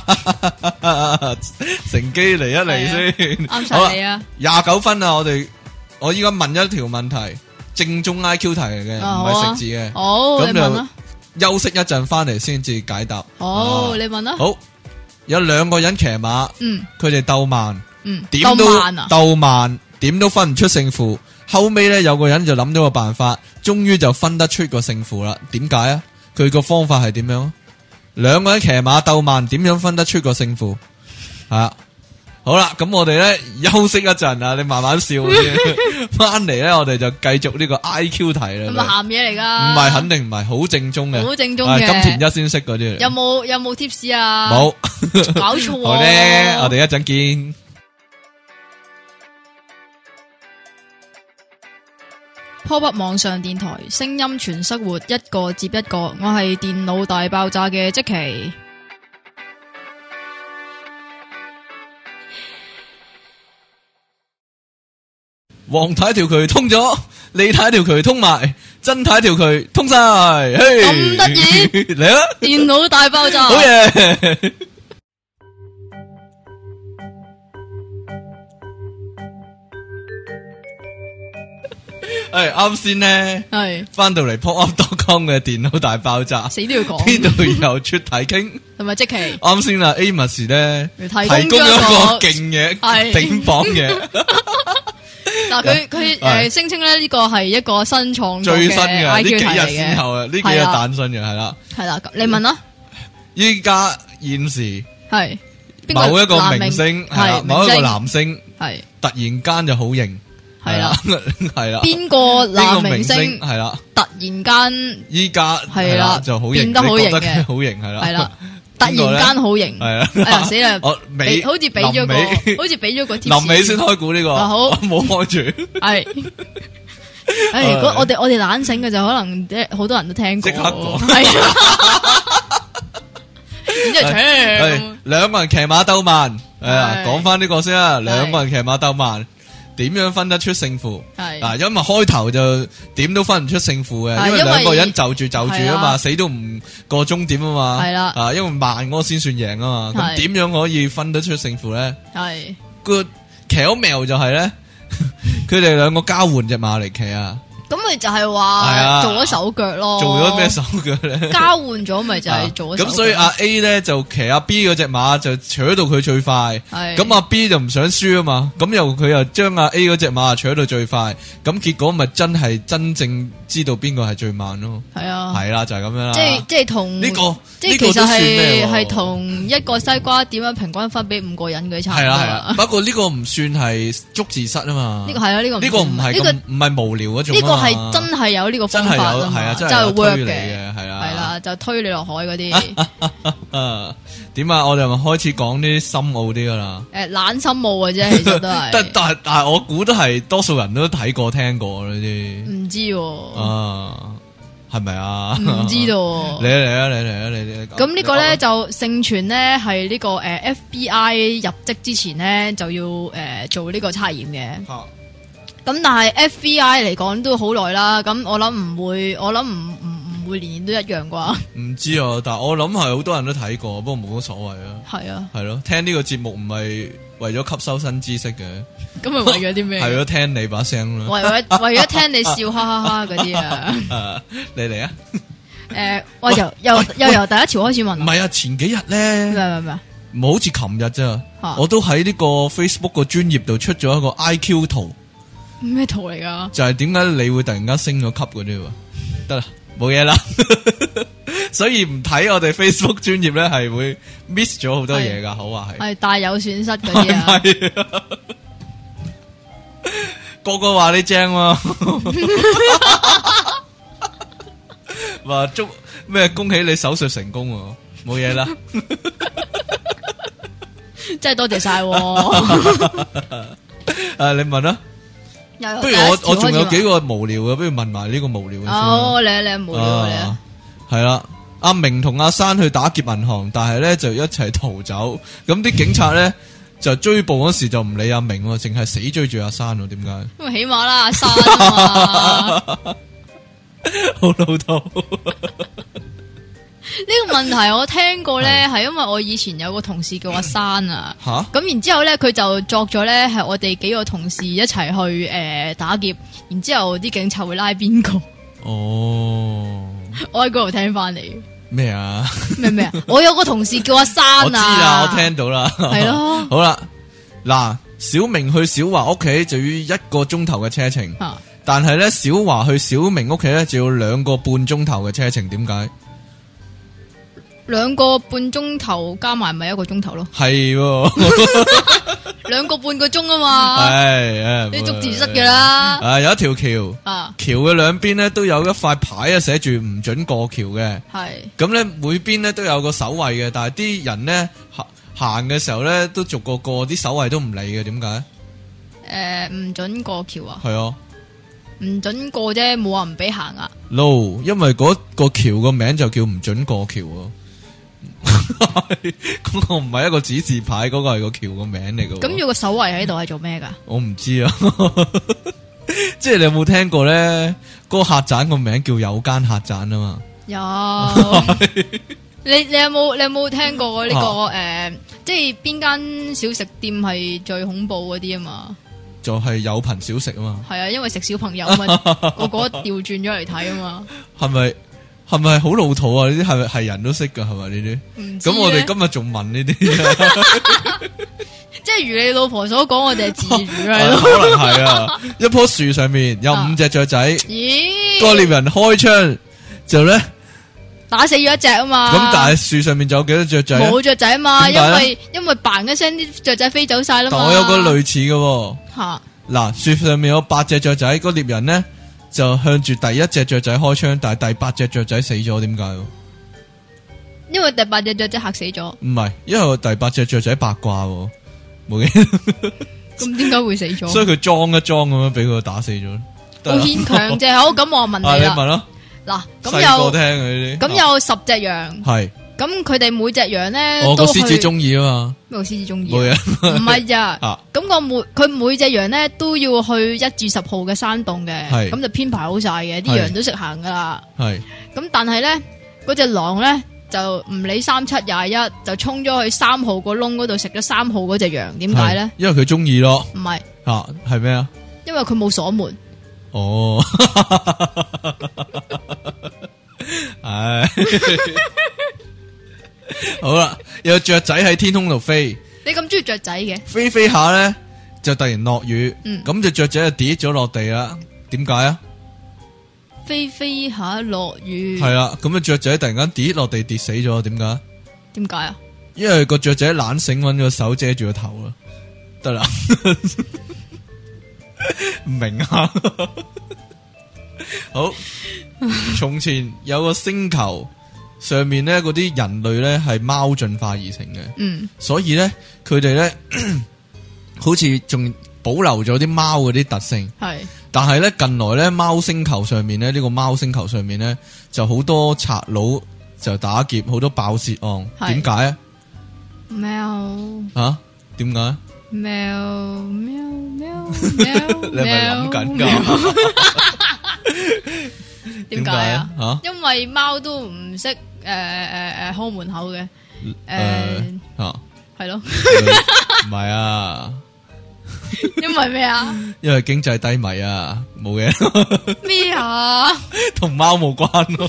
乘機嚟一嚟先，啱晒你啊！29分啊！我依家問一條問題，正宗 IQ 題嚟嘅，唔係食字嘅。好，咁就休息一陣翻嚟先至解答。好，你問啦。好，有兩個人騎馬，佢哋鬥慢，點都鬥慢，點都分唔出勝負。後尾咧有個人就諗到個辦法，終於就分得出個勝負啦。點解啊？佢個方法係點樣？兩個人騎馬鬥慢，點樣分得出個勝負？係啊， 好啦，咁我哋咧休息一陣啊，你慢慢笑先。翻嚟咧，我哋就繼續呢個 IQ 題啦。 係咪鹹嘢嚟噶？ 唔係，肯定唔係，好正宗嘅。 好正宗嘅。 金田一先識嗰啲嚟。 有冇貼士啊？ 冇。 搞錯。 好咧，我哋一陣見。 Pop-up 網上電台，聲音全生活，一個接一個。我係電腦大爆炸嘅積淇。 黃太條渠通咗，李太條渠通埋，曾太條渠通晒。咁得意嚟啦！ 電腦大爆炸， 好嘢！啱先呢，係翻到嚟 popup.com 嘅電腦大爆炸， 死都要講呢度有出體傾， 同埋積淇。 啱先啦 ，Amos 咧提供咗一個勁嘢，頂榜嘅。 嗱，佢聲稱咧呢個係一個新創作嘅 IQ 題嚟嘅，最新嘅呢幾日先後啊，呢幾日誕生嘅係啦。 係啦，你問啦。 依家現時係某一個明星係某一個男星係突然間就好型。 係啦， 係啦。 邊個男明星係啦？ 突然間依家係啦就好型， 變得好型嘅， 好型係啦。 係啦，突然間好型。係啊，哎呀死啦！好似俾咗個貼士。 臨尾先開估呢個。 好， 冇開住。 係。如果我哋懶醒嘅就可能好多人都聽過。即刻講。係啊。然之後兩個人騎馬鬥慢。講翻呢個先啦，兩個人騎馬鬥慢。點樣分得出勝負？係嗱，因為開頭就點都分唔出勝負嘅，因為兩個人就住啊嘛，死都唔過終點啊嘛。係啦，因為慢嗰個先算贏啊嘛。咁點樣可以分得出勝負咧？係個巧妙就係咧，佢哋兩個交換隻馬嚟騎啊。咁咪就係話做咗手腳咯。做咗咩手腳咧？交換咗咪就係做咗手腳。咁所以阿 A 咧就騎阿 B 嗰隻馬就扯到佢最快。係咁阿 B 就唔想輸啊嘛。咁佢又將阿 A 嗰隻馬扯到最快。咁結果咪真係真正知道邊個係最慢咯。係啊。係啦，就係咁樣啦。即係同呢個，即係其實係同一個西瓜點樣平均分俾5個人嘅差唔多。係啦。不過呢個唔算係捉字蝨啊嘛。呢個係啊，呢個唔係唔係無聊嗰種。係真係有呢個方法啊嘛，真係 work 嘅，係啦，就推你落海嗰啲。點啊？我哋咪開始講啲深奧啲噶啦。懶深奧嘅啫，其實都係。但係我估都係多數人都睇過聽過呢啲。唔知係咪啊？唔知道。你嚟。咁呢個咧就盛傳咧係呢個FBI 入職之前咧就要做呢個測驗嘅。咁但係 FBI 嚟講都好耐啦，咁我諗唔會年年都一樣啩？唔知啊，但係我諗係好多人都睇過，不過冇乜所謂啊。係啊，係咯，聽呢個節目唔係為咗吸收新知識嘅，咁係為咗啲咩？係咯，聽你把聲咯，為咗聽你笑哈哈哈嗰啲啊！你嚟啊！我又由第一條開始問。唔係啊，前幾日咧，咩？唔好似琴日啫，我都喺呢個 Facebook 個專頁度出咗一個 IQ 圖。咩圖嚟噶？就係點解你會突然間升咗級嗰啲？得啦，冇嘢啦。所以唔睇我哋 Facebook 專頁咧，係會 miss 咗好多嘢噶。好話係大有損失嗰啲啊！個個話你正喎，話祝咩恭喜你手術成功，冇嘢啦。真係多謝晒。你問啦。不如我仲有幾個無聊嘅，不如問埋呢個無聊嘅先。哦，你無聊你啊。係啦，阿明同阿珊去打劫銀行，但係咧就一齊逃走。咁啲警察咧就追捕嗰時就唔理阿明，淨係死追住阿珊。點解？因為起碼啦，阿珊啊嘛。好老土。呢個問題我聽過咧，係因為我以前有個同事叫阿珊啊，咁然之後咧佢就作咗咧係我哋幾個同事一齊去打劫，然之後啲警察會拉邊個？哦，我喺嗰度聽翻嚟。咩啊？咩啊？我有個同事叫阿珊啊，我知啦，我聽到啦，係咯。好啦，嗱，小明去小華屋企就要1個鐘頭嘅車程，但係咧小華去小明屋企咧就要2個半鐘頭嘅車程，點解？ 2個半鐘頭加埋咪1個鐘頭咯。 係 2個半個鐘啊嘛。 係你捉字蝨噶啦。 有一條橋，橋嘅兩邊咧都有一塊牌啊，寫住唔准過橋嘅。係咁咧，每邊咧都有個守衛嘅，但係啲人咧行嘅時候咧都逐個過，啲守衛都唔理嘅，點解？ 唔准過橋啊？ 係啊， 唔准過啫，冇話唔俾行啊。 No， 因為嗰個橋個名就叫唔准過橋啊。嗰個唔係一個指示牌，嗰個係個橋個名嚟嘅。 咁有個守衛喺度係做咩噶？ 我唔知啊。即係你有冇聽過咧？嗰個客棧個名叫有間客棧啊嘛。 有。你有冇聽過呢個即係邊間小食店係最恐怖嗰啲啊嘛？ 就係有朋小食啊嘛。 係啊，因為食小朋友啊嘛，個個調轉咗嚟睇啊嘛。 係咪好老土啊？呢啲係人都識噶，係咪呢啲？咁我哋今日仲問呢啲，即係如你老婆所講，我哋係自主啊。 可能係啊。一棵樹上面有5隻雀仔，咦？個獵人開槍就咧打死咗一隻啊嘛。 咁但係樹上面仲有幾多雀仔？ 冇雀仔啊嘛，因為嘭一聲啲雀仔飛走晒啦嘛。 但我有個類似嘅吓， 嗱，樹上面有8隻雀仔，個獵人咧就向住第一隻雀仔開槍，但係第8隻雀仔死咗，點解？ 因為第8隻雀仔嚇死咗。唔係，因為第8隻雀仔八卦，冇嘅。 咁點解會死咗？ 所以佢裝一裝咁樣俾佢打死咗。 好牽強啫。好，咁我問你啦。 你問咯。 嗱， 細個聽呢啲。 咁有10隻羊。係。咁佢哋每隻羊咧， 個獅子中意啊嘛。 咩獅子中意？ 冇嘢。 唔係咋。咁佢每隻羊咧都要去1至10號嘅山洞嘅，咁就編排好晒嘅，啲羊都識行噶啦。係。咁但係咧，嗰隻狼咧就唔理3721，就衝咗去3號個窿嗰度食咗3號嗰隻羊。點解咧？ 因為佢中意咯。 唔係。 吓，係咩啊？ 因為佢冇鎖門。 哦。唉。好啦，有雀仔喺天空度飛。 你咁中意雀仔嘅？ 飛飛下咧，就突然落雨，咁隻雀仔就跌咗落地啦。點解啊？ 飛飛下落雨。 係啦，咁隻雀仔突然間跌落地跌死咗，點解？ 點解啊？ 因為個雀仔懶醒，搵個手遮住個頭啦。得啦，唔明啊？好，從前有個星球。上面咧嗰啲人類咧係貓進化而成嘅，所以咧佢哋咧好似仲保留咗啲貓嗰啲特性。係，但係咧近來咧貓星球上面咧呢個貓星球上面咧就好多賊佬就打劫，好多爆竊案。點解啊？ 喵啊？點解？ 喵喵喵喵，你係咪諗緊噶？ 點解啊？吓，因為貓都唔識開門口嘅，係咯， 唔係啊？ 因為咩啊？ 因為經濟低迷啊，冇嘢。 咩啊？ 同貓冇關咯。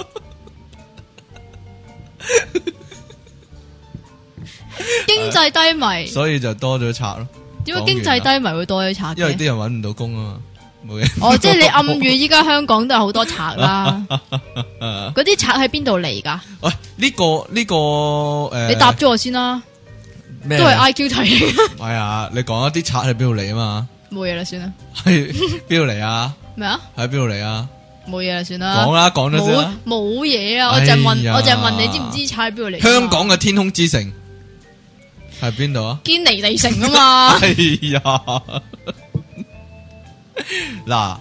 經濟低迷， 所以就多咗賊咯。 點解經濟低迷會多咗賊？ 因為啲人搵唔到工啊嘛。 哦，即係你暗喻依家香港都有好多賊啦。嗰啲賊喺邊度嚟噶？ 喂，呢個你答咗我先啦。都係 IQ 題。 係啊，你講一啲賊喺邊度嚟啊嘛？ 冇嘢啦，算啦。 係邊度嚟啊？ 咩啊？ 喺邊度嚟啊？ 冇嘢啦，算啦。講啦，講咗先啦。 冇嘢啊！我就問你知唔知賊喺邊度嚟？ 香港嘅天空之城係邊度啊？ 堅尼地城啊嘛。 哎呀！嗱，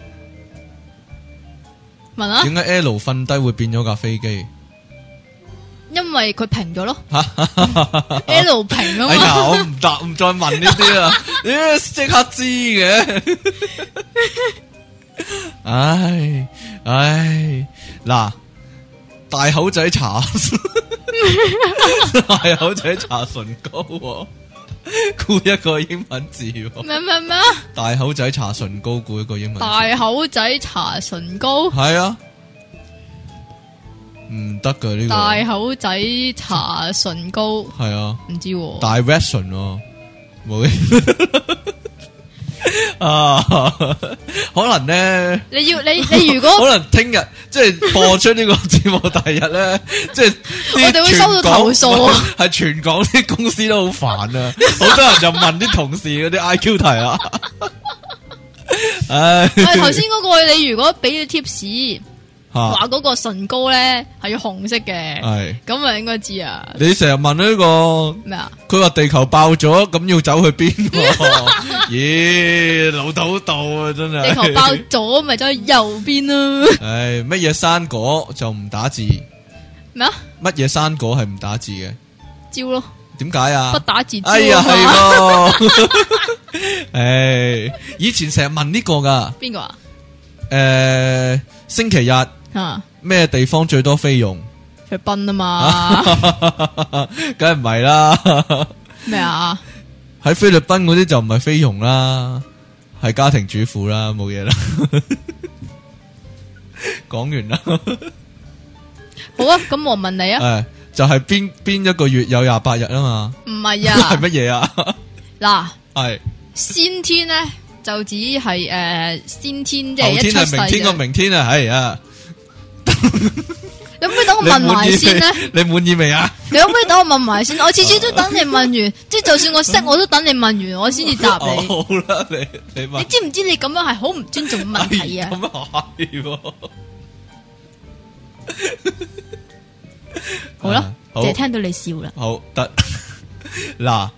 問啊？ 點解 L 瞓低會變咗架飛機？ 因為佢平咗咯。L 平啊嘛。 哎呀，我唔答，唔再問呢啲啦。你即刻知嘅。唉，嗱，大口仔搽，大口仔搽唇膏。估一個英文字。咩？大口仔搽唇膏，估一個英文字。大口仔搽唇膏。係啊，唔得噶呢個。大口仔搽唇膏。係啊，唔知。Direction 冇嘅。 啊，可能咧， 你如果可能聽日即係播出呢個節目第日咧，即係我哋會收到投訴啊， 係全港啲公司都好煩啊，好多人就問啲同事嗰啲 IQ 題啊。唉， 頭先嗰個你如果俾咗 tips。話嗰個唇膏咧係要紅色嘅，係咁啊，應該知啊。你成日問呢個咩啊？佢話地球爆咗，咁要走去邊？咦，老土道啊，真係！地球爆咗，咪走去右邊咯。唉，乜嘢生果就唔打字？咩啊？乜嘢生果係唔打字嘅？蕉咯。點解啊？不打字。哎呀，係咯。唉，以前成日問呢個噶。邊個啊？星期日。咩地方最多菲傭？菲律賓啊嘛，梗係唔係啦。咩啊？喺菲律賓嗰啲就唔係菲傭啦，係家庭主婦啦，冇嘢啦。講完啦。好啊，咁我問你啊，就係邊一個月有28日啊嘛？唔係啊，係乜嘢啊？嗱，係先天咧就只係先天即係一出世嘅。後天係明天個明天啊，係啊。你可唔可以等我問埋先咧？你滿意未啊？你可唔可以等我問埋先？我次次都等你問完，即係就算我識，我都等你問完，我先至答你。好啦，你問。你知唔知你咁樣係好唔尊重問題啊？咁啊係。好啦，淨係聽到你笑啦。好得嗱，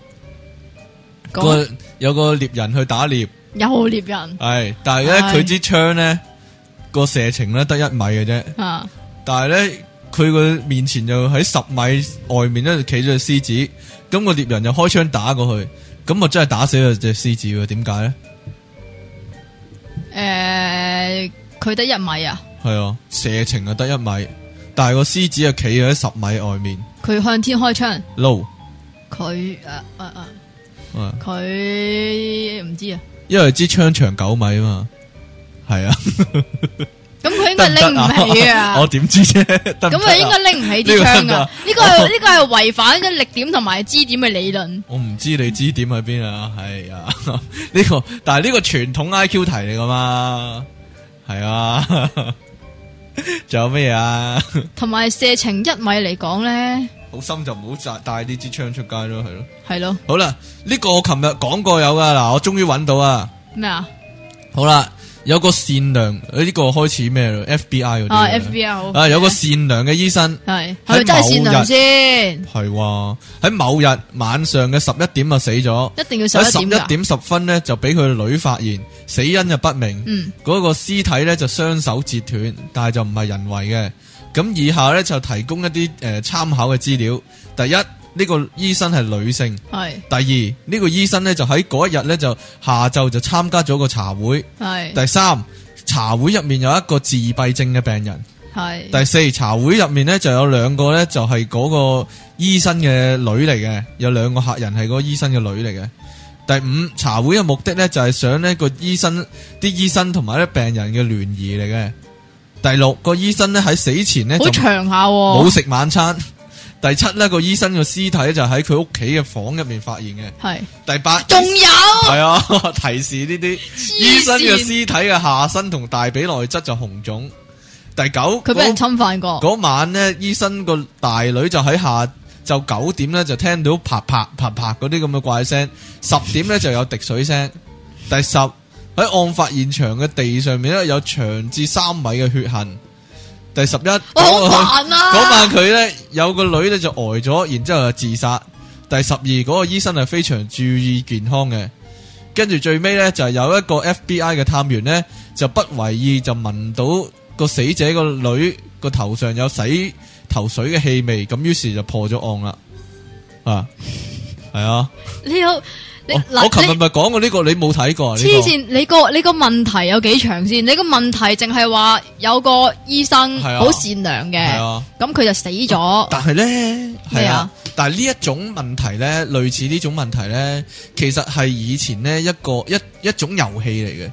有個獵人去打獵，有獵人係，但係咧佢支槍咧。個射程咧得1米嘅啫，但係咧佢個面前就喺10米外面咧企咗隻獅子，咁個獵人就開槍打過去，咁啊真係打死咗隻獅子喎？點解咧？佢得1米啊？係啊，射程啊得1米，但係個獅子啊企喺10米外面，佢向天開槍。No， 佢佢唔知啊，因為支槍長9米啊嘛。係啊，咁佢應該拎唔起啊！我點知啫？咁佢應該拎唔起支槍啊！呢個係違反咗力點同埋支點嘅理論。我唔知你支點喺邊啊！係啊，呢個但係呢個傳統 IQ 題嚟噶嘛？係啊，仲有咩啊？同埋射程1米嚟講咧，好深就唔好帶呢支槍出街咯，係咯，係咯。好啦，呢個我琴日講過有噶，嗱，我終於揾到啊！咩啊？好啦。有個善良呢個開始咩咯 ？FBI 嗰啲 FBI 好啊，有個善良嘅醫生係咪真係善良先？係喺某日晚上嘅11點就死咗，一定要11點。喺11點10分咧就俾佢女發現，死因就不明。嗰個屍體咧就雙手截斷，但係就唔係人為嘅。咁以下咧就提供一啲參考嘅資料。第一。呢個醫生係女性，係。第二，呢個醫生咧就喺嗰一日咧就下晝就參加咗個茶會，係。第三，茶會入面有一個自閉症嘅病人，係。第四，茶會入面咧就有2個咧就係嗰個醫生嘅女嚟嘅，有2個客人係嗰個醫生嘅女嚟嘅。第五，茶會嘅目的咧就係想呢個醫生同埋啲病人嘅聯誼嚟嘅。第六，個醫生咧喺死前咧好長下，冇食晚餐。第7呢個醫生個屍體就喺佢屋企嘅房入面發現嘅。係。第8仲有係啊，提示呢啲醫生嘅屍體嘅下身同大髀內側就紅腫。第9佢俾人侵犯過。嗰晚呢，醫生個大女就喺下晝9點呢，就聽到啪啪啪啪嗰啲咁嘅怪聲，10點呢，就有滴水聲。第10喺案發現場嘅地上面呢，有長至3米嘅血痕。第11，嗰晚佢咧有個女咧就呆咗，然之後就自殺。第12，嗰個醫生係非常注意健康嘅。跟住最尾咧就係有一個 FBI 嘅探員咧就不為意就聞到個死者個女個頭上有洗頭水嘅氣味，咁於是就破咗案啦。啊，係啊，我琴日咪講過呢個，你冇睇過？黐線，你個問題有幾長先？你個問題淨係話有個醫生好善良嘅，咁佢就死咗。但係咧，係啊，但係呢一種問題咧，類似呢種問題咧，其實係以前呢一種遊戲嚟嘅。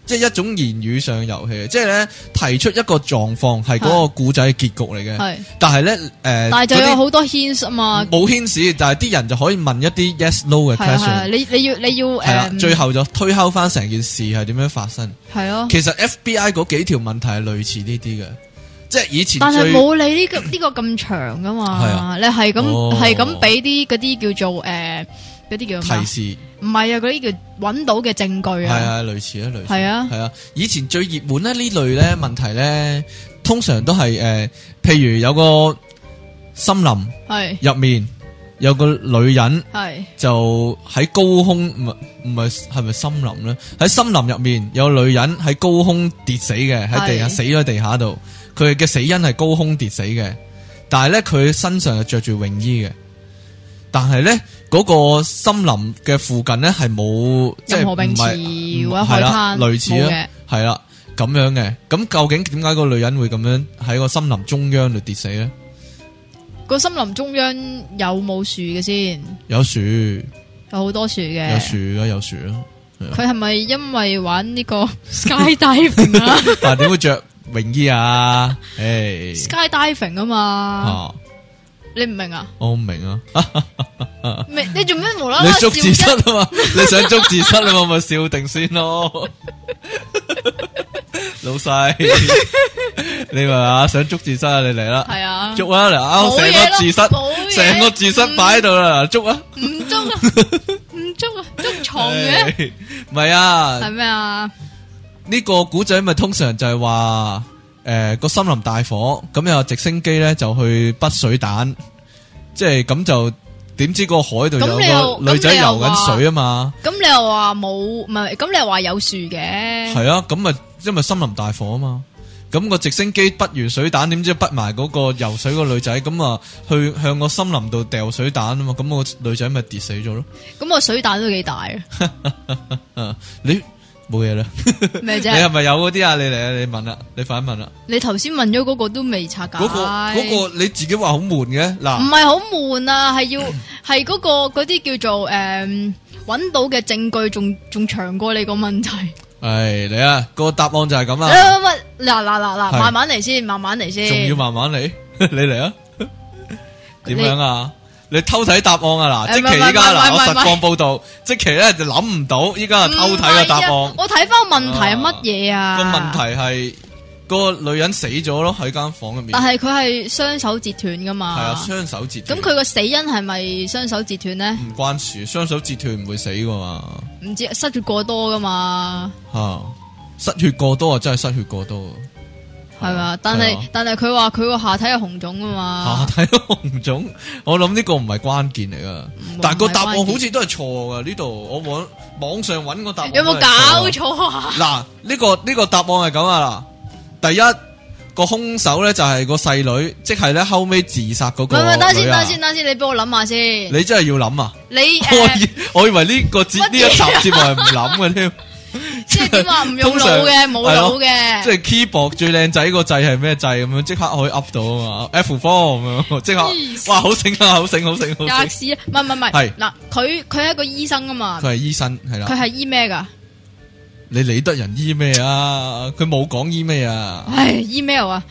即係一種言語上嘅遊戲，即係咧提出一個狀況係嗰個故仔嘅結局嚟嘅，但係咧但係就有好多 hints 啊嘛， 冇 hints，但係啲人就可以問一啲 yes no 嘅 question， 你要係啦，最後就推敲翻成件事係點樣發生，係咯，其實 FBI 嗰幾條問題係類似呢啲嘅。即係以前， 但係冇你呢個咁長噶嘛，啊、你係咁俾啲嗰啲叫做嗰啲叫提示， 唔係啊，嗰啲叫揾到嘅證據啊， 係啊，類似啊， 係啊， 係啊，以前最熱門咧呢類咧問題咧，通常都係譬如有個森林係入面有個女人係就喺高空，唔係咪森林咧？喺森林入面有個女人喺高空跌死嘅，喺地下死咗喺地下度。佢嘅死因係高空跌死嘅，但係咧佢身上係着住泳衣嘅，但係咧嗰個森林嘅附近咧係冇任何泳池或者海灘，類似啊，係啦咁樣嘅。咁究竟點解個女人會咁樣喺個森林中央度跌死咧？ 個森林中央有冇樹嘅先？ 有樹， 有好多樹嘅， 有樹啊，有樹啊。 佢係咪因為玩呢個 skydiving 啊？ 但係點會着泳衣啊 ？skydiving 啊嘛，你唔明啊？ 我唔明啊！ 你做咩無啦啦？ 你捉字蝨啊嘛？你想捉字蝨啊嘛？咪笑定先咯，老細，你話想捉字蝨啊？你嚟啦，係啊，捉啊嚟啱成個字蝨，成個字蝨擺喺度啦，捉啊！ 唔捉啊，唔捉啊，捉蟲嘅， 唔係啊， 係咩啊？ 呢個古仔咪通常就係話，個森林大火，咁有直升機咧就去滗水彈，即係咁就點知個海度有個女仔游緊水啊嘛？咁你又話冇，唔係，咁你又話有樹嘅？係啊，咁咪因為森林大火啊嘛，咁個直升機滗完水彈，點知滗埋嗰個游水個女仔，咁啊去向個森林度掉水彈啊嘛，咁個女仔咪跌死咗咯。咁個水彈都幾大啊！你。冇嘢啦，咩啫？你係咪有嗰啲啊？你嚟啊！你問啦，你快問啦！ 你頭先問咗嗰個都未拆解，嗰個你自己話好悶嘅嗱， 唔係好悶啊，係係嗰啲叫做揾到嘅證據仲長過你個問題。 係你啊，個答案就係咁啊！ 嗱，慢慢嚟先，慢慢嚟先， 仲要慢慢嚟，你嚟啊？點樣啊？你偷睇答案啊嗱，積淇依家嗱，我實況報道，積淇咧就諗唔到，依家係偷睇個答案。 我睇翻個問題係乜嘢啊？個問題係個女人死咗咯，喺間房入面。 但係佢係雙手截斷噶嘛？係啊，雙手截斷。 咁佢個死因係咪雙手截斷咧？ 唔關事，雙手截斷唔會死噶嘛。 唔知失血過多噶嘛？ 失血過多啊，真係失血過多。 係嘛？但係佢話佢個下體係紅腫啊嘛。 下體紅腫，我諗呢個唔係關鍵嚟噶。但係個答案好似都係錯噶。呢度我網上揾個答案， 有冇搞錯啊？ 嗱，呢個答案係咁啊嗱。第一個兇手咧就係個細女，即係咧後尾自殺嗰個女啊。 等先，你幫我諗下先。 你真係要諗啊？ 你我以為呢一集節目係唔諗嘅添。 即係點話唔用腦嘅，冇腦嘅， 即係 keyboard 最靚仔個掣係咩掣咁樣，即刻可以 up 到啊嘛 ，F4 咁樣，即刻哇好醒啊，好醒！吔屎啊！ 唔係，係嗱，佢係一個醫生啊嘛， 佢係醫生係啦， 佢係醫咩噶？ 你理得人醫咩啊？佢冇講醫咩啊？ 唉，email 啊，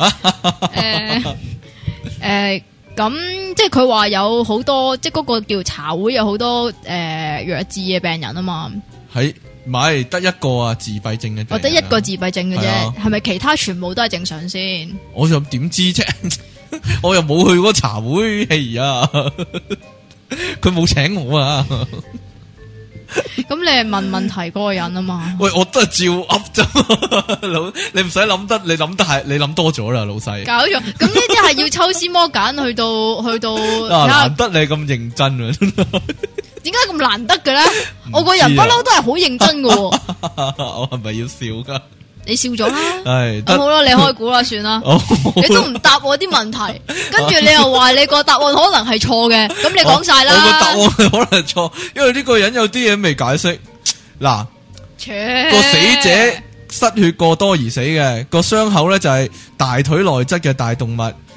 咁即係佢話有好多，即係嗰個叫茶會有好多弱智嘅病人啊嘛， 係。唔係得一個啊，自閉症嘅， 我得一個自閉症嘅啫，係咪其他全部都係正常先？ 我又點知啫？我又冇去過茶會，係啊，佢冇請我啊。 咁你係問問題嗰個人啊嘛？ 喂，我都係照噏啫，老你唔使諗得，你諗多咗啦，老細。 搞錯，咁呢啲係要抽絲剝繭去到難得你咁認真啊！ 點解咁難得嘅咧？我個人不嬲都係好認真嘅。 我係咪要笑噶？ 你笑咗啦， 係好啦，你開估啦，算啦。你都唔答我啲問題，跟住你又話你個答案可能係錯嘅，咁你講晒啦。 我個答案係可能係錯，因為呢個人有啲嘢未解釋。嗱，個死者失血過多而死嘅，個傷口咧就係大腿內側嘅大動脈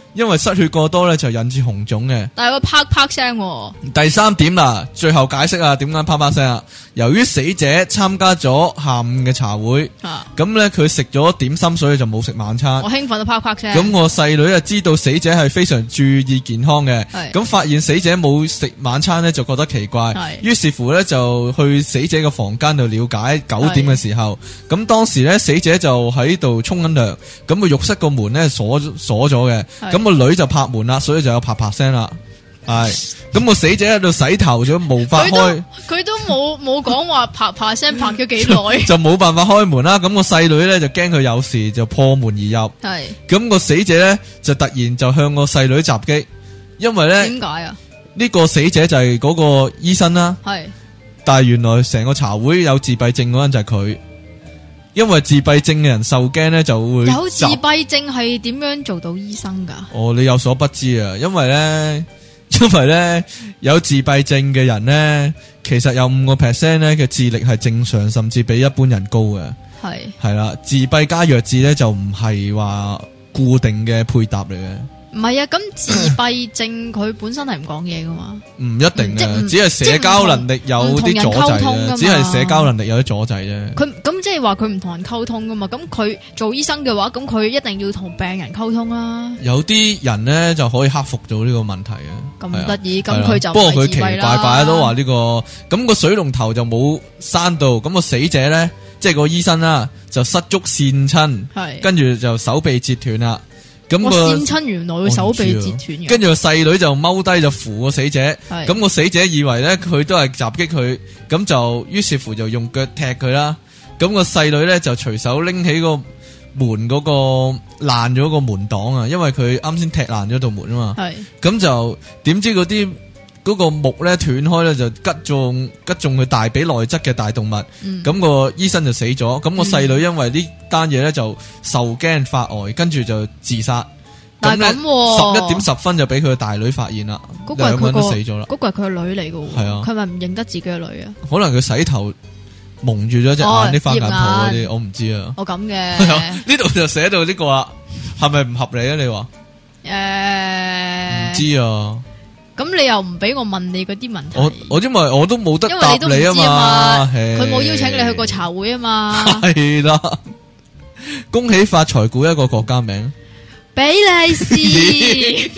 因為失血過多咧就引致紅腫嘅。 但係個啪啪聲。 第3點啦，最後解釋啊，點解啪啪聲啊？由於死者參加咗下午嘅茶會，咁咧佢食咗點心，所以就冇食晚餐。 我興奮到啪啪聲。 咁我細女啊知道死者係非常注意健康嘅，咁發現死者冇食晚餐咧就覺得奇怪，於是乎咧就去死者嘅房間度了解。9點嘅時候，咁當時咧死者就喺度沖緊涼，咁個浴室個門咧鎖咗嘅，咁個女就拍門啦，所以就有啪啪聲啦。係，咁個死者喺度洗頭咗，無法開。佢都冇講話啪啪聲拍咗幾耐， 就冇辦法開門啦。咁個細女咧就驚佢有事，就破門而入。係，咁個死者咧就突然就向個細女襲擊，因為咧點解啊？ 呢個死者就係嗰個醫生啦。係，但係原來成個茶會有自閉症嗰人就係佢。因為自閉症嘅人受驚咧，就會有自閉症係點樣做到醫生噶？ 哦，你有所不知啊！因為咧有自閉症嘅人咧，其實有5% 咧嘅智力係正常，甚至比一般人高嘅。係啦，自閉加弱智咧就唔係話固定嘅配搭嚟嘅。唔係啊，咁自閉症佢本身係唔講嘢噶嘛？ 唔一定嘅，只係社交能力有啲阻滯啫，只係社交能力有啲阻滯啫。 佢咁即係話佢唔同人溝通噶嘛？咁佢做醫生嘅話，咁佢一定要同病人溝通啦。 有啲人咧就可以克服到呢個問題啊！ 咁得意，咁佢就不過佢奇怪怪都話呢個咁個水龍頭就冇閂到，咁個死者咧即係個醫生啦，就失足跣親，跟住就手臂折斷啦。咁個跣親原來佢手臂折斷嘅， 跟住個細女就踎低就扶個死者，咁個死者以為咧佢都係襲擊佢，咁就於是乎就用腳踢佢啦。咁個細女咧就隨手拎起個門嗰個爛咗個門擋啊，因為佢啱先踢爛咗道門啊嘛。咁就點知嗰個木咧斷開咧就擊中佢大髀內側嘅大動脈，咁個醫生就死咗。咁個細女因為呢單嘢咧就受驚發呆，跟住就自殺。 但係咁 11點10分就俾佢嘅大女發現啦，兩個人都死咗啦。 嗰個係佢個女嚟嘅，係啊，佢咪唔認得自己嘅女啊？ 可能佢洗頭蒙住咗隻眼啲花眼泡嗰啲，我唔知啊。 我咁嘅呢度就寫到呢個啦，係咪唔合理啊？你話唔知啊？咁你又唔俾我問你嗰啲問題？ 我因為我都冇得答你啊嘛， 佢冇邀請你去過茶會啊嘛。 係啦，恭喜發財，估一個國家名， 比利時。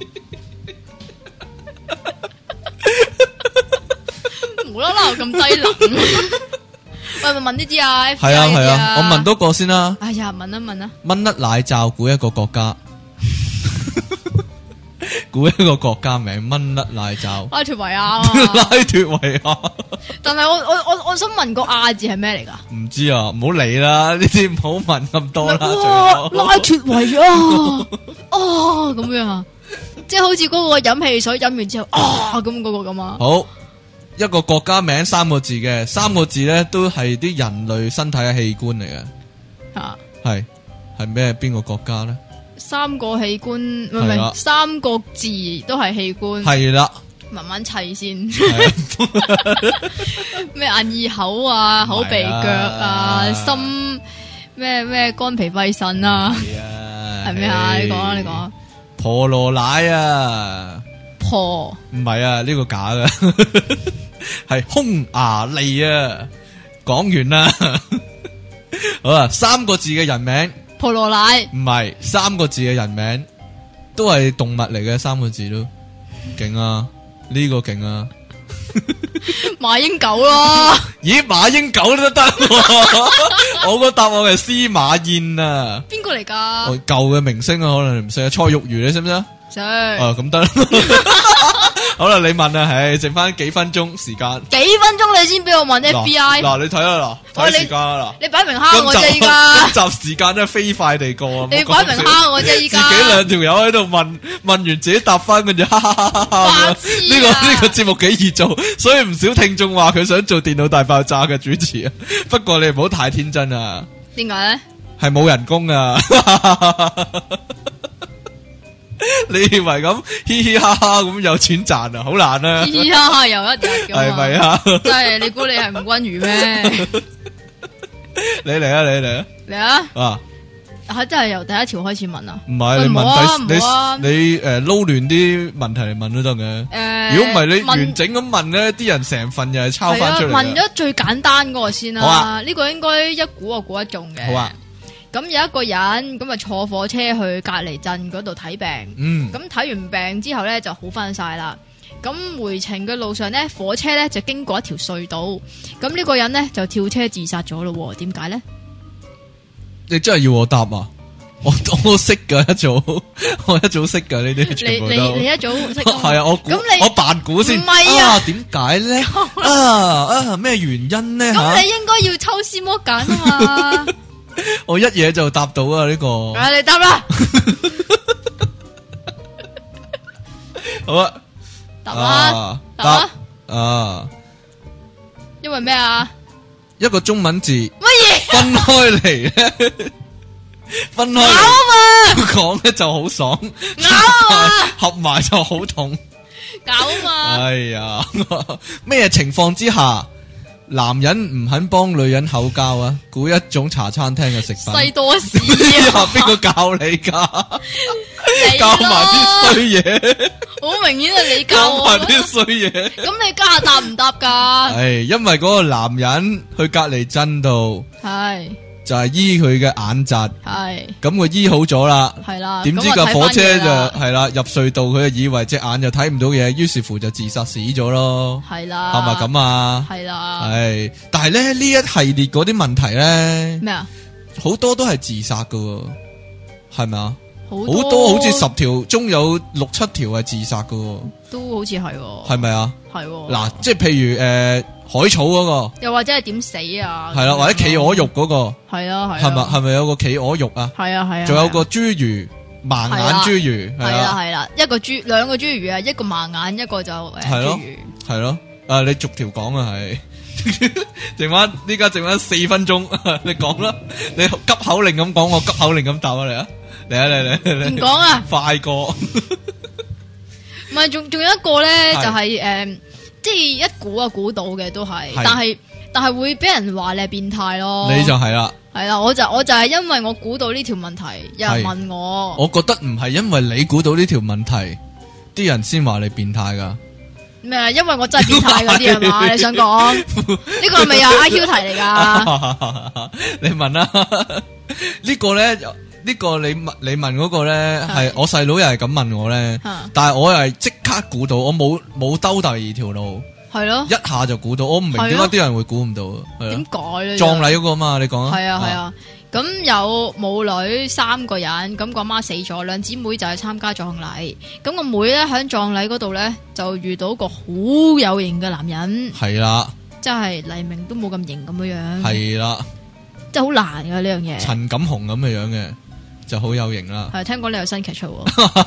無啦啦咁低能。喂，咪問呢啲啊？ 係啊，我問多個先啦。 哎呀，問啊。 蚊甩奶罩，估一個國家。估一個國家名，蚊甩奶罩。 拉脫維亞。 拉脫維亞。 但係我想問個亞字係咩嚟噶？ 唔知啊，唔好理啦，呢啲唔好問咁多啦。 拉脫維亞。哦，咁樣啊，即係好似嗰個飲汽水飲完之後咁嗰個咁啊。 好，一個國家名3個字嘅，3個字咧都係啲人類身體嘅器官嚟嘅。吓，係咩？邊個國家咧？3個器官，唔係3個字都係器官。係啦，慢慢砌先。咩眼耳口啊，口鼻腳啊，心咩肝脾肺腎啊，係咩啊？你講啊。婆羅奶啊，婆唔係啊，呢個假嘅，係匈牙利啊。講完啦，好啦，3個字嘅人名。婆羅奶唔係3個字嘅人名，都係動物嚟嘅，3個字都勁啊！呢個勁啊！馬英九咯，咦？馬英九都得，我個答案係司馬燕啊！邊個嚟噶？舊嘅明星啊，可能你唔識啊。蔡玉如你識唔識啊？識。咁得啦。好啦，你問啊，剩翻幾分鐘時間。幾分鐘你先俾我問 FBI？嗱，你睇下睇時間啦，你擺明蝦我啫依家。今集時間真係飛快地過啊！你擺明蝦我啫依家。自己2條友喺度問完自己答翻，跟住哈哈哈哈。呢個節目幾易做，所以唔少聽眾話佢想做電腦大爆炸嘅主持啊。不過你唔好太天真啊。點解咧？係冇人工啊。你以為咁嘻嘻哈哈咁有錢賺啊？好難啊！嘻嘻哈哈又一日咁，係咪啊？真係你估你係吳君如咩？你嚟啊！嚟啊！啊！ 真係由第一條開始問啊？ 唔係，你問你撈亂啲問題嚟問都得嘅。如果唔係你完整咁問咧，啲人成份又係抄翻出嚟。 問咗最簡單嗰個先啦。好啊，呢個應該一估就估得中嘅。 好啊。 咁有一個人咁啊坐火車去隔離鎮嗰度睇病。咁睇完病之後咧就好翻晒啦。咁回程嘅路上咧，火車咧就經過一條隧道。咁呢個人咧就跳車自殺咗咯。點解咧？ 你真係要我答啊？我識噶一早，我一早識噶呢啲全部都。你一早識。 係啊，我扮估先。 唔係啊？ 點解咧？咩原因咧？ 咁你應該要抽絲剝繭啊嘛。 我一嘢就答到啊呢個。 你答啦。 好啊。答啊！ 因為咩啊？ 一個中文字乜嘢分開嚟咧？分開講咧就好爽，合埋就好痛。 搞啊嘛！ 哎呀，咩情況之下男人唔肯幫女人口交啊？估一種茶餐廳嘅食品。 西多士啊！邊個教你噶？教埋啲衰嘢。 好明顯係你教我。 教埋啲衰嘢。 咁你家下答唔答噶？ 係因為嗰個男人去隔離鎮度。係。就係醫佢嘅眼疾，係咁佢醫好咗啦，係啦。點知架火車就係啦入隧道，佢就以為隻眼就睇唔到嘢，於是乎就自殺死咗咯。係啦，係咪咁啊？係啦，係。但係咧呢一系列嗰啲問題咧，咩啊？好多都係自殺噶，係咪啊？好多好似10條中有6、7條係自殺噶， 都好似係， 係咪啊？係嗱，即係譬如海草嗰個，又或者係點死啊？係啦，或者企鵝肉嗰個，係啊係。係咪有個企鵝肉啊？係啊係啊。仲有個侏儒盲眼侏儒，係啦係啦，兩個侏儒啊，一個盲眼，一個就侏儒。係咯，你逐條講啊係。依家剩翻4分鐘，你講啦，你急口令咁講，我急口令咁答啊你啊，嚟唔講啊，快過。唔係，仲有一個咧，就係即係一估就估到嘅都係，但係會俾人話你係變態咯。你就係啦，係啦，我就係因為我估到呢條問題，有人問我。我覺得唔係因為你估到呢條問題，啲人先話你變態噶。咩啊？因為我真係變態嗰啲係嘛？你想講呢個係咪有 IQ 題嚟噶？你問啦，呢個咧。呢個你問嗰個咧係我細佬又係咁問我咧，但係我又係即刻估到，我冇兜第二條路，係咯，一下就估到，我唔明點解啲人會估唔到，點解咧？葬禮嗰個嘛，你講啊，係啊，咁有母女3個人，咁個媽死咗，兩姊妹就去參加葬禮，咁個妹咧喺葬禮嗰度咧就遇到個好有型嘅男人，係啦，即係黎明都冇咁型咁樣樣，係啦，即係好難噶呢樣嘢，陳錦鴻咁嘅樣嘅。就好有型啦，係聽講你有新劇出，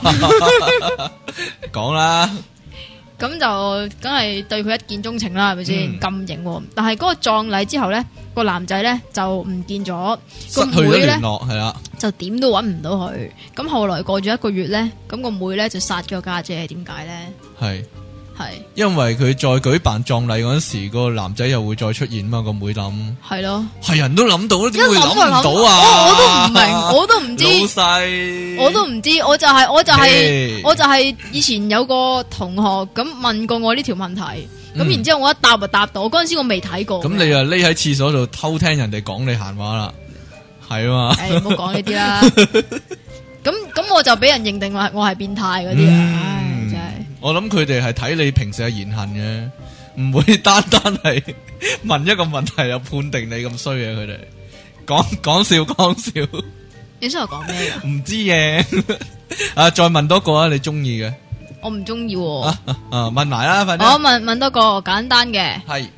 講啦，咁就梗係對佢一見鐘情啦，係咪先咁型？但係嗰個葬禮之後咧，個男仔咧就唔見咗，個妹咧係啦，就點都搵唔到佢。咁後來過咗1個月咧，咁個妹咧就殺咗家姐，點解咧？係。係，因為佢再舉辦葬禮嗰時，個男仔又會再出現嘛。個妹諗係咯，係人都諗到，點會諗唔到啊？我都唔明，我都唔知，老細，我都唔知，我就係以前有個同學咁問過我呢條問題，咁然之後我一答就答到，嗰陣時我未睇過。咁你啊匿喺廁所度偷聽人哋講你閒話啦，係啊嘛？誒，唔好講呢啲啦。咁我就俾人認定我係變態嗰啲啊。我諗佢哋係睇你平時嘅言行嘅，唔會單係問一個問題就判定你咁衰嘅。佢哋講笑。你想我講咩噶？唔知嘅。啊，再問多個啊，你中意嘅？我唔中意。問埋啦，快啲。我問多個簡單嘅。係。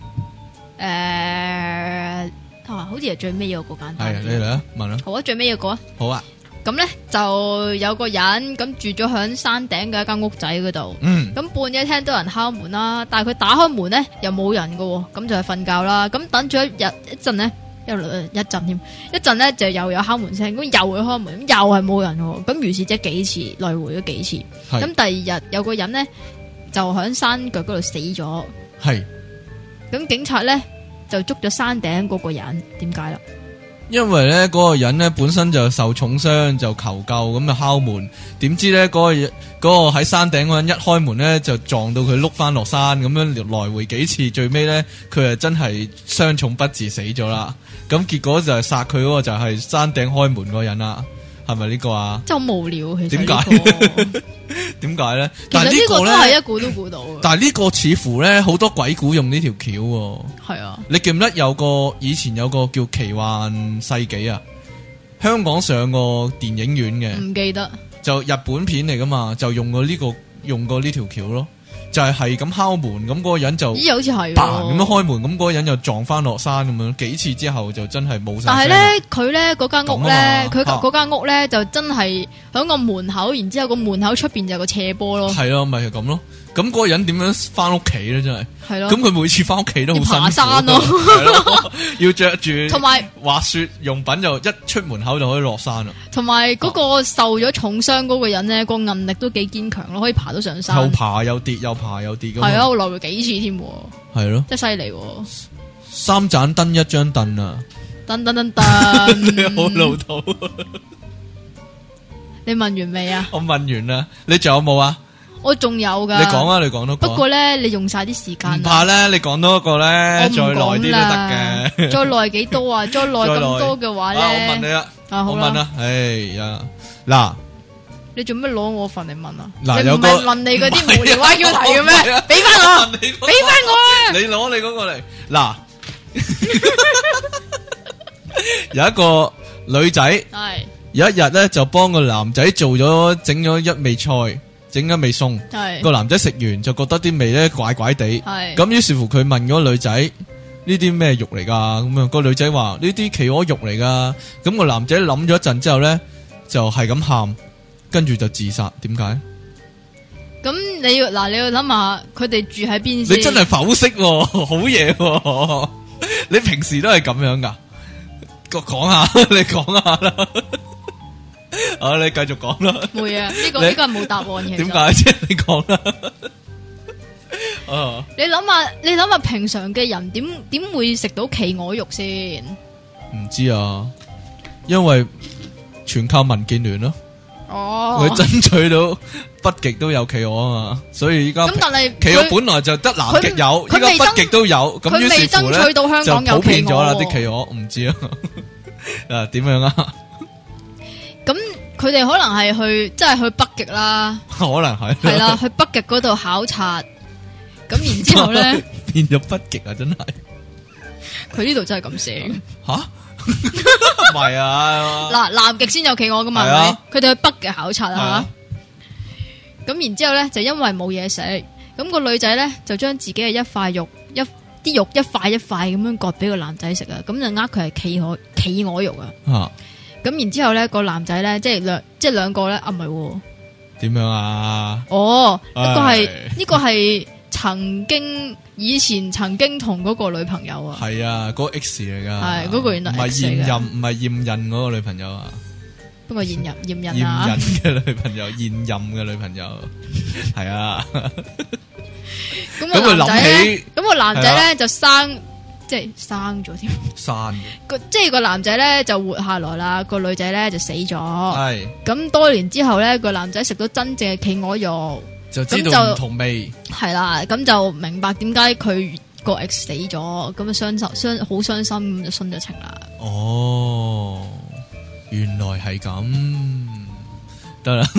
好似係最尾嗰個簡單。係，你嚟啊，問啦。好啊，最尾嗰個啊。好啊。咁咧就有個人咁住咗響山頂嘅一間屋仔嗰度，咁半夜聽到人敲門啦，但係佢打開門咧又冇人噶，咁就係瞓覺啦。咁等咗一陣咧，一陣咧就又有敲門聲，咁又去開門，咁又係冇人，咁如是即係幾次來回咗幾次。咁第二日有個人咧就響山腳嗰度死咗，係咁警察咧就捉咗山頂嗰個人，點解啦？ 因為咧嗰個人咧本身就受重傷，就求救咁就敲門，點知咧嗰個喺山頂嗰人一開門咧就撞到佢碌翻落山，咁樣來回幾次，最尾咧佢係真係傷重不治死咗啦。咁結果就係殺佢嗰個就係山頂開門嗰個人啦，係咪呢個啊？ 真係好無聊，其實點解？點解咧？但係呢個咧係一估都估到。 但係呢個似乎咧好多鬼故用呢條橋。 係啊， 你記唔記得以前有個叫奇幻世紀啊？香港上過電影院嘅， 唔記得。就日本片嚟噶嘛，就用過呢條橋咯。就係咁敲門，咁嗰個人就咦，好似係咁樣開門，咁嗰個人又撞翻落山咁樣，幾次之後就真係冇晒。 但係咧，佢咧嗰間屋咧，佢嗰間屋咧就真係響個門口，然之後個門口出邊就有個斜坡咯。 係咯，咪係咁咯。咁嗰個人點樣翻屋企咧？真係係咯。 咁佢每次翻屋企都好辛苦。 爬山咯， 要着住同埋滑雪用品，就一出門口就可以落山啦。 同埋嗰個受咗重傷嗰個人咧，個韌力都幾堅強咯，可以爬到上山。 又爬又跌，又爬又跌咁。 係啊，我來回幾次添。 係咯， 真係犀利。 三盞燈一張凳啊！ 噔噔噔噔， 好老土。 你問完未啊？ 我問完啦，你仲有冇啊？ 我仲有噶。 你講啊，你講多個。 不過咧，你用晒啲時間。 唔怕咧，你講多一個咧，再耐啲都得嘅。 再耐幾多啊？再耐咁多嘅話咧， 我問你啦，我問啦，哎呀，嗱， 你做咩攞我份嚟問啊？ 嗱， 你唔係問你嗰啲無聊 IQ 題嘅咩？俾翻我，俾翻我啊！ 你攞你嗰個嚟。嗱，有一個女仔，係有一日咧就幫個男仔整咗一味菜。整一味餸，個男仔食完就覺得啲味咧怪怪地，咁於是乎佢問嗰個女仔呢啲咩肉嚟噶？咁樣個女仔話呢啲企鵝肉嚟噶，咁個男仔諗咗一陣之後咧就係咁喊，跟住就自殺。點解？咁你要諗下佢哋住喺邊先？ 你真係剖析，好嘢！你平時都係咁樣噶？講下，你講下啦。啊！你繼續講啦。 會啊，呢個係冇答案嘅。 點解啫？你講啦。 你諗下，平常嘅人點會食到企鵝肉先？ 唔知啊，因為全靠民建聯咯。哦，佢爭取到北極都有企鵝啊嘛，所以依家咁但係企鵝本來就得南極有，依家北極都有，咁於是乎咧就普遍咗啦啲企鵝。唔知啊，啊點樣啊？咁佢哋可能係即係去北極啦， 可能係啦，去北極嗰度考察，咁然之後咧變咗北極啊！真係， 佢呢度真係咁寫吓，唔係啊！嗱， 南極先有企鵝噶嘛，係咪？佢哋去北極考察啊，咁然之後咧就因為冇嘢食，咁個女仔咧就將自己嘅一塊肉啲肉一塊一塊咁樣割俾個男仔食啊，咁就佢係企鵝肉啊。咁然之後咧，個男仔咧，即係兩個咧，唔係，點樣啊？ 哦，呢個係以前曾經同嗰個女朋友啊， 係啊，嗰個 X 嚟噶， 係嗰個原來唔係現任，唔係現任嗰個女朋友啊， 不過現任嘅女朋友，現任嘅女朋友，係啊。 咁佢諗起，咁個男仔咧就即係生咗添，即係個男仔咧就活下來啦，個女仔咧就死咗。係咁多年之後咧，個男仔食到真正嘅企鵝肉， 就知道唔同味。 係啦，咁就明白點解佢個 ex 死咗，咁啊好傷心，咁就殉咗情啦。 哦，原來係咁，得啦。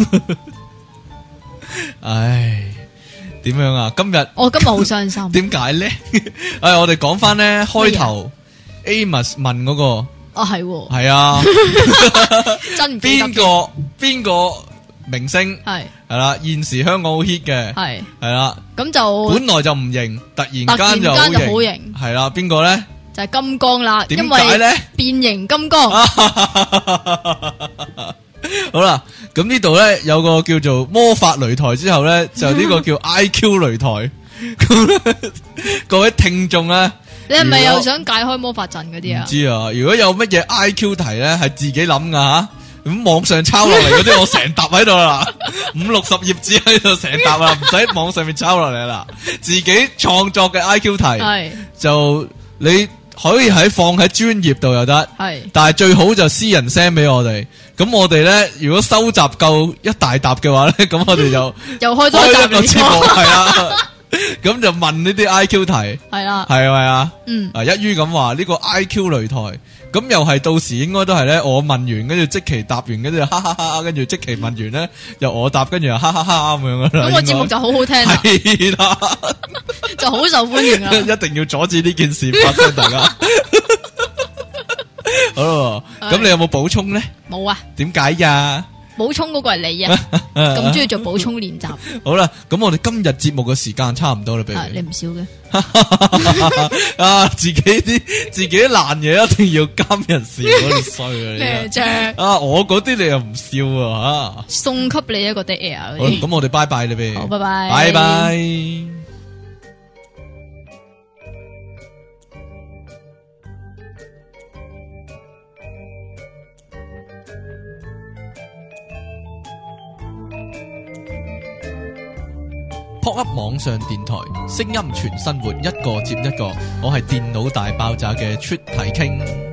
唉。點樣啊？今日我今日好傷心。 點解咧？我哋講翻咧開頭 Amos 問嗰個。 哦，係啊， 真唔記得邊個明星係啦？現時香港好 hit 嘅係啦。咁就本來就唔型，突然間就好型。係啦，邊個咧？ 就係金剛啦。 點解咧？ 變形金剛。 好啦，咁呢度咧有個叫做魔法擂台，之後咧就呢個叫 IQ 擂台。咁咧，各位聽眾咧， 你係咪又想解開魔法陣嗰啲啊？ 唔知啊，如果有乜嘢 IQ 題咧，係自己諗噶吓，咁網上抄落嚟嗰啲，我成沓喺度啦，50-60頁紙喺度成沓啦，唔使網上面抄落嚟啦，自己創作嘅 IQ 題，係就你可以放喺專頁度又得，但係最好就私人 send 俾我哋。咁我哋咧，如果收集夠一大沓嘅話咧，咁我哋就又開多一個節目，係啦。咁就問呢啲 I.Q 題，係啦， 係咪啊？一於咁話呢個 I.Q 擂台，咁又係到時應該都係咧，我問完，跟住積淇答完，跟住哈哈哈，跟住積淇問完咧，又我答，跟住又哈哈哈咁樣噶啦。 咁個節目就好好聽啦， 係啦， 就好受歡迎啦。 一定要阻止呢件事發生，大家。好咯，咁你有冇補充咧？ 冇啊。點解呀？ 補充嗰個係你啊，咁中意做補充練習。 好啦，咁我哋今日節目嘅時間差唔多啦，俾你唔少嘅。 自己啲爛嘢一定要監人笑，嗰啲衰啊！ 咩啫？ 我嗰啲你又唔笑啊？吓，送給你一個 dead air。 好，咁我哋拜拜啦，俾。 好，拜拜， 拜拜。Pop Up 網上電台，聲音全生活，一個接一個。我係電腦大爆炸嘅出體傾。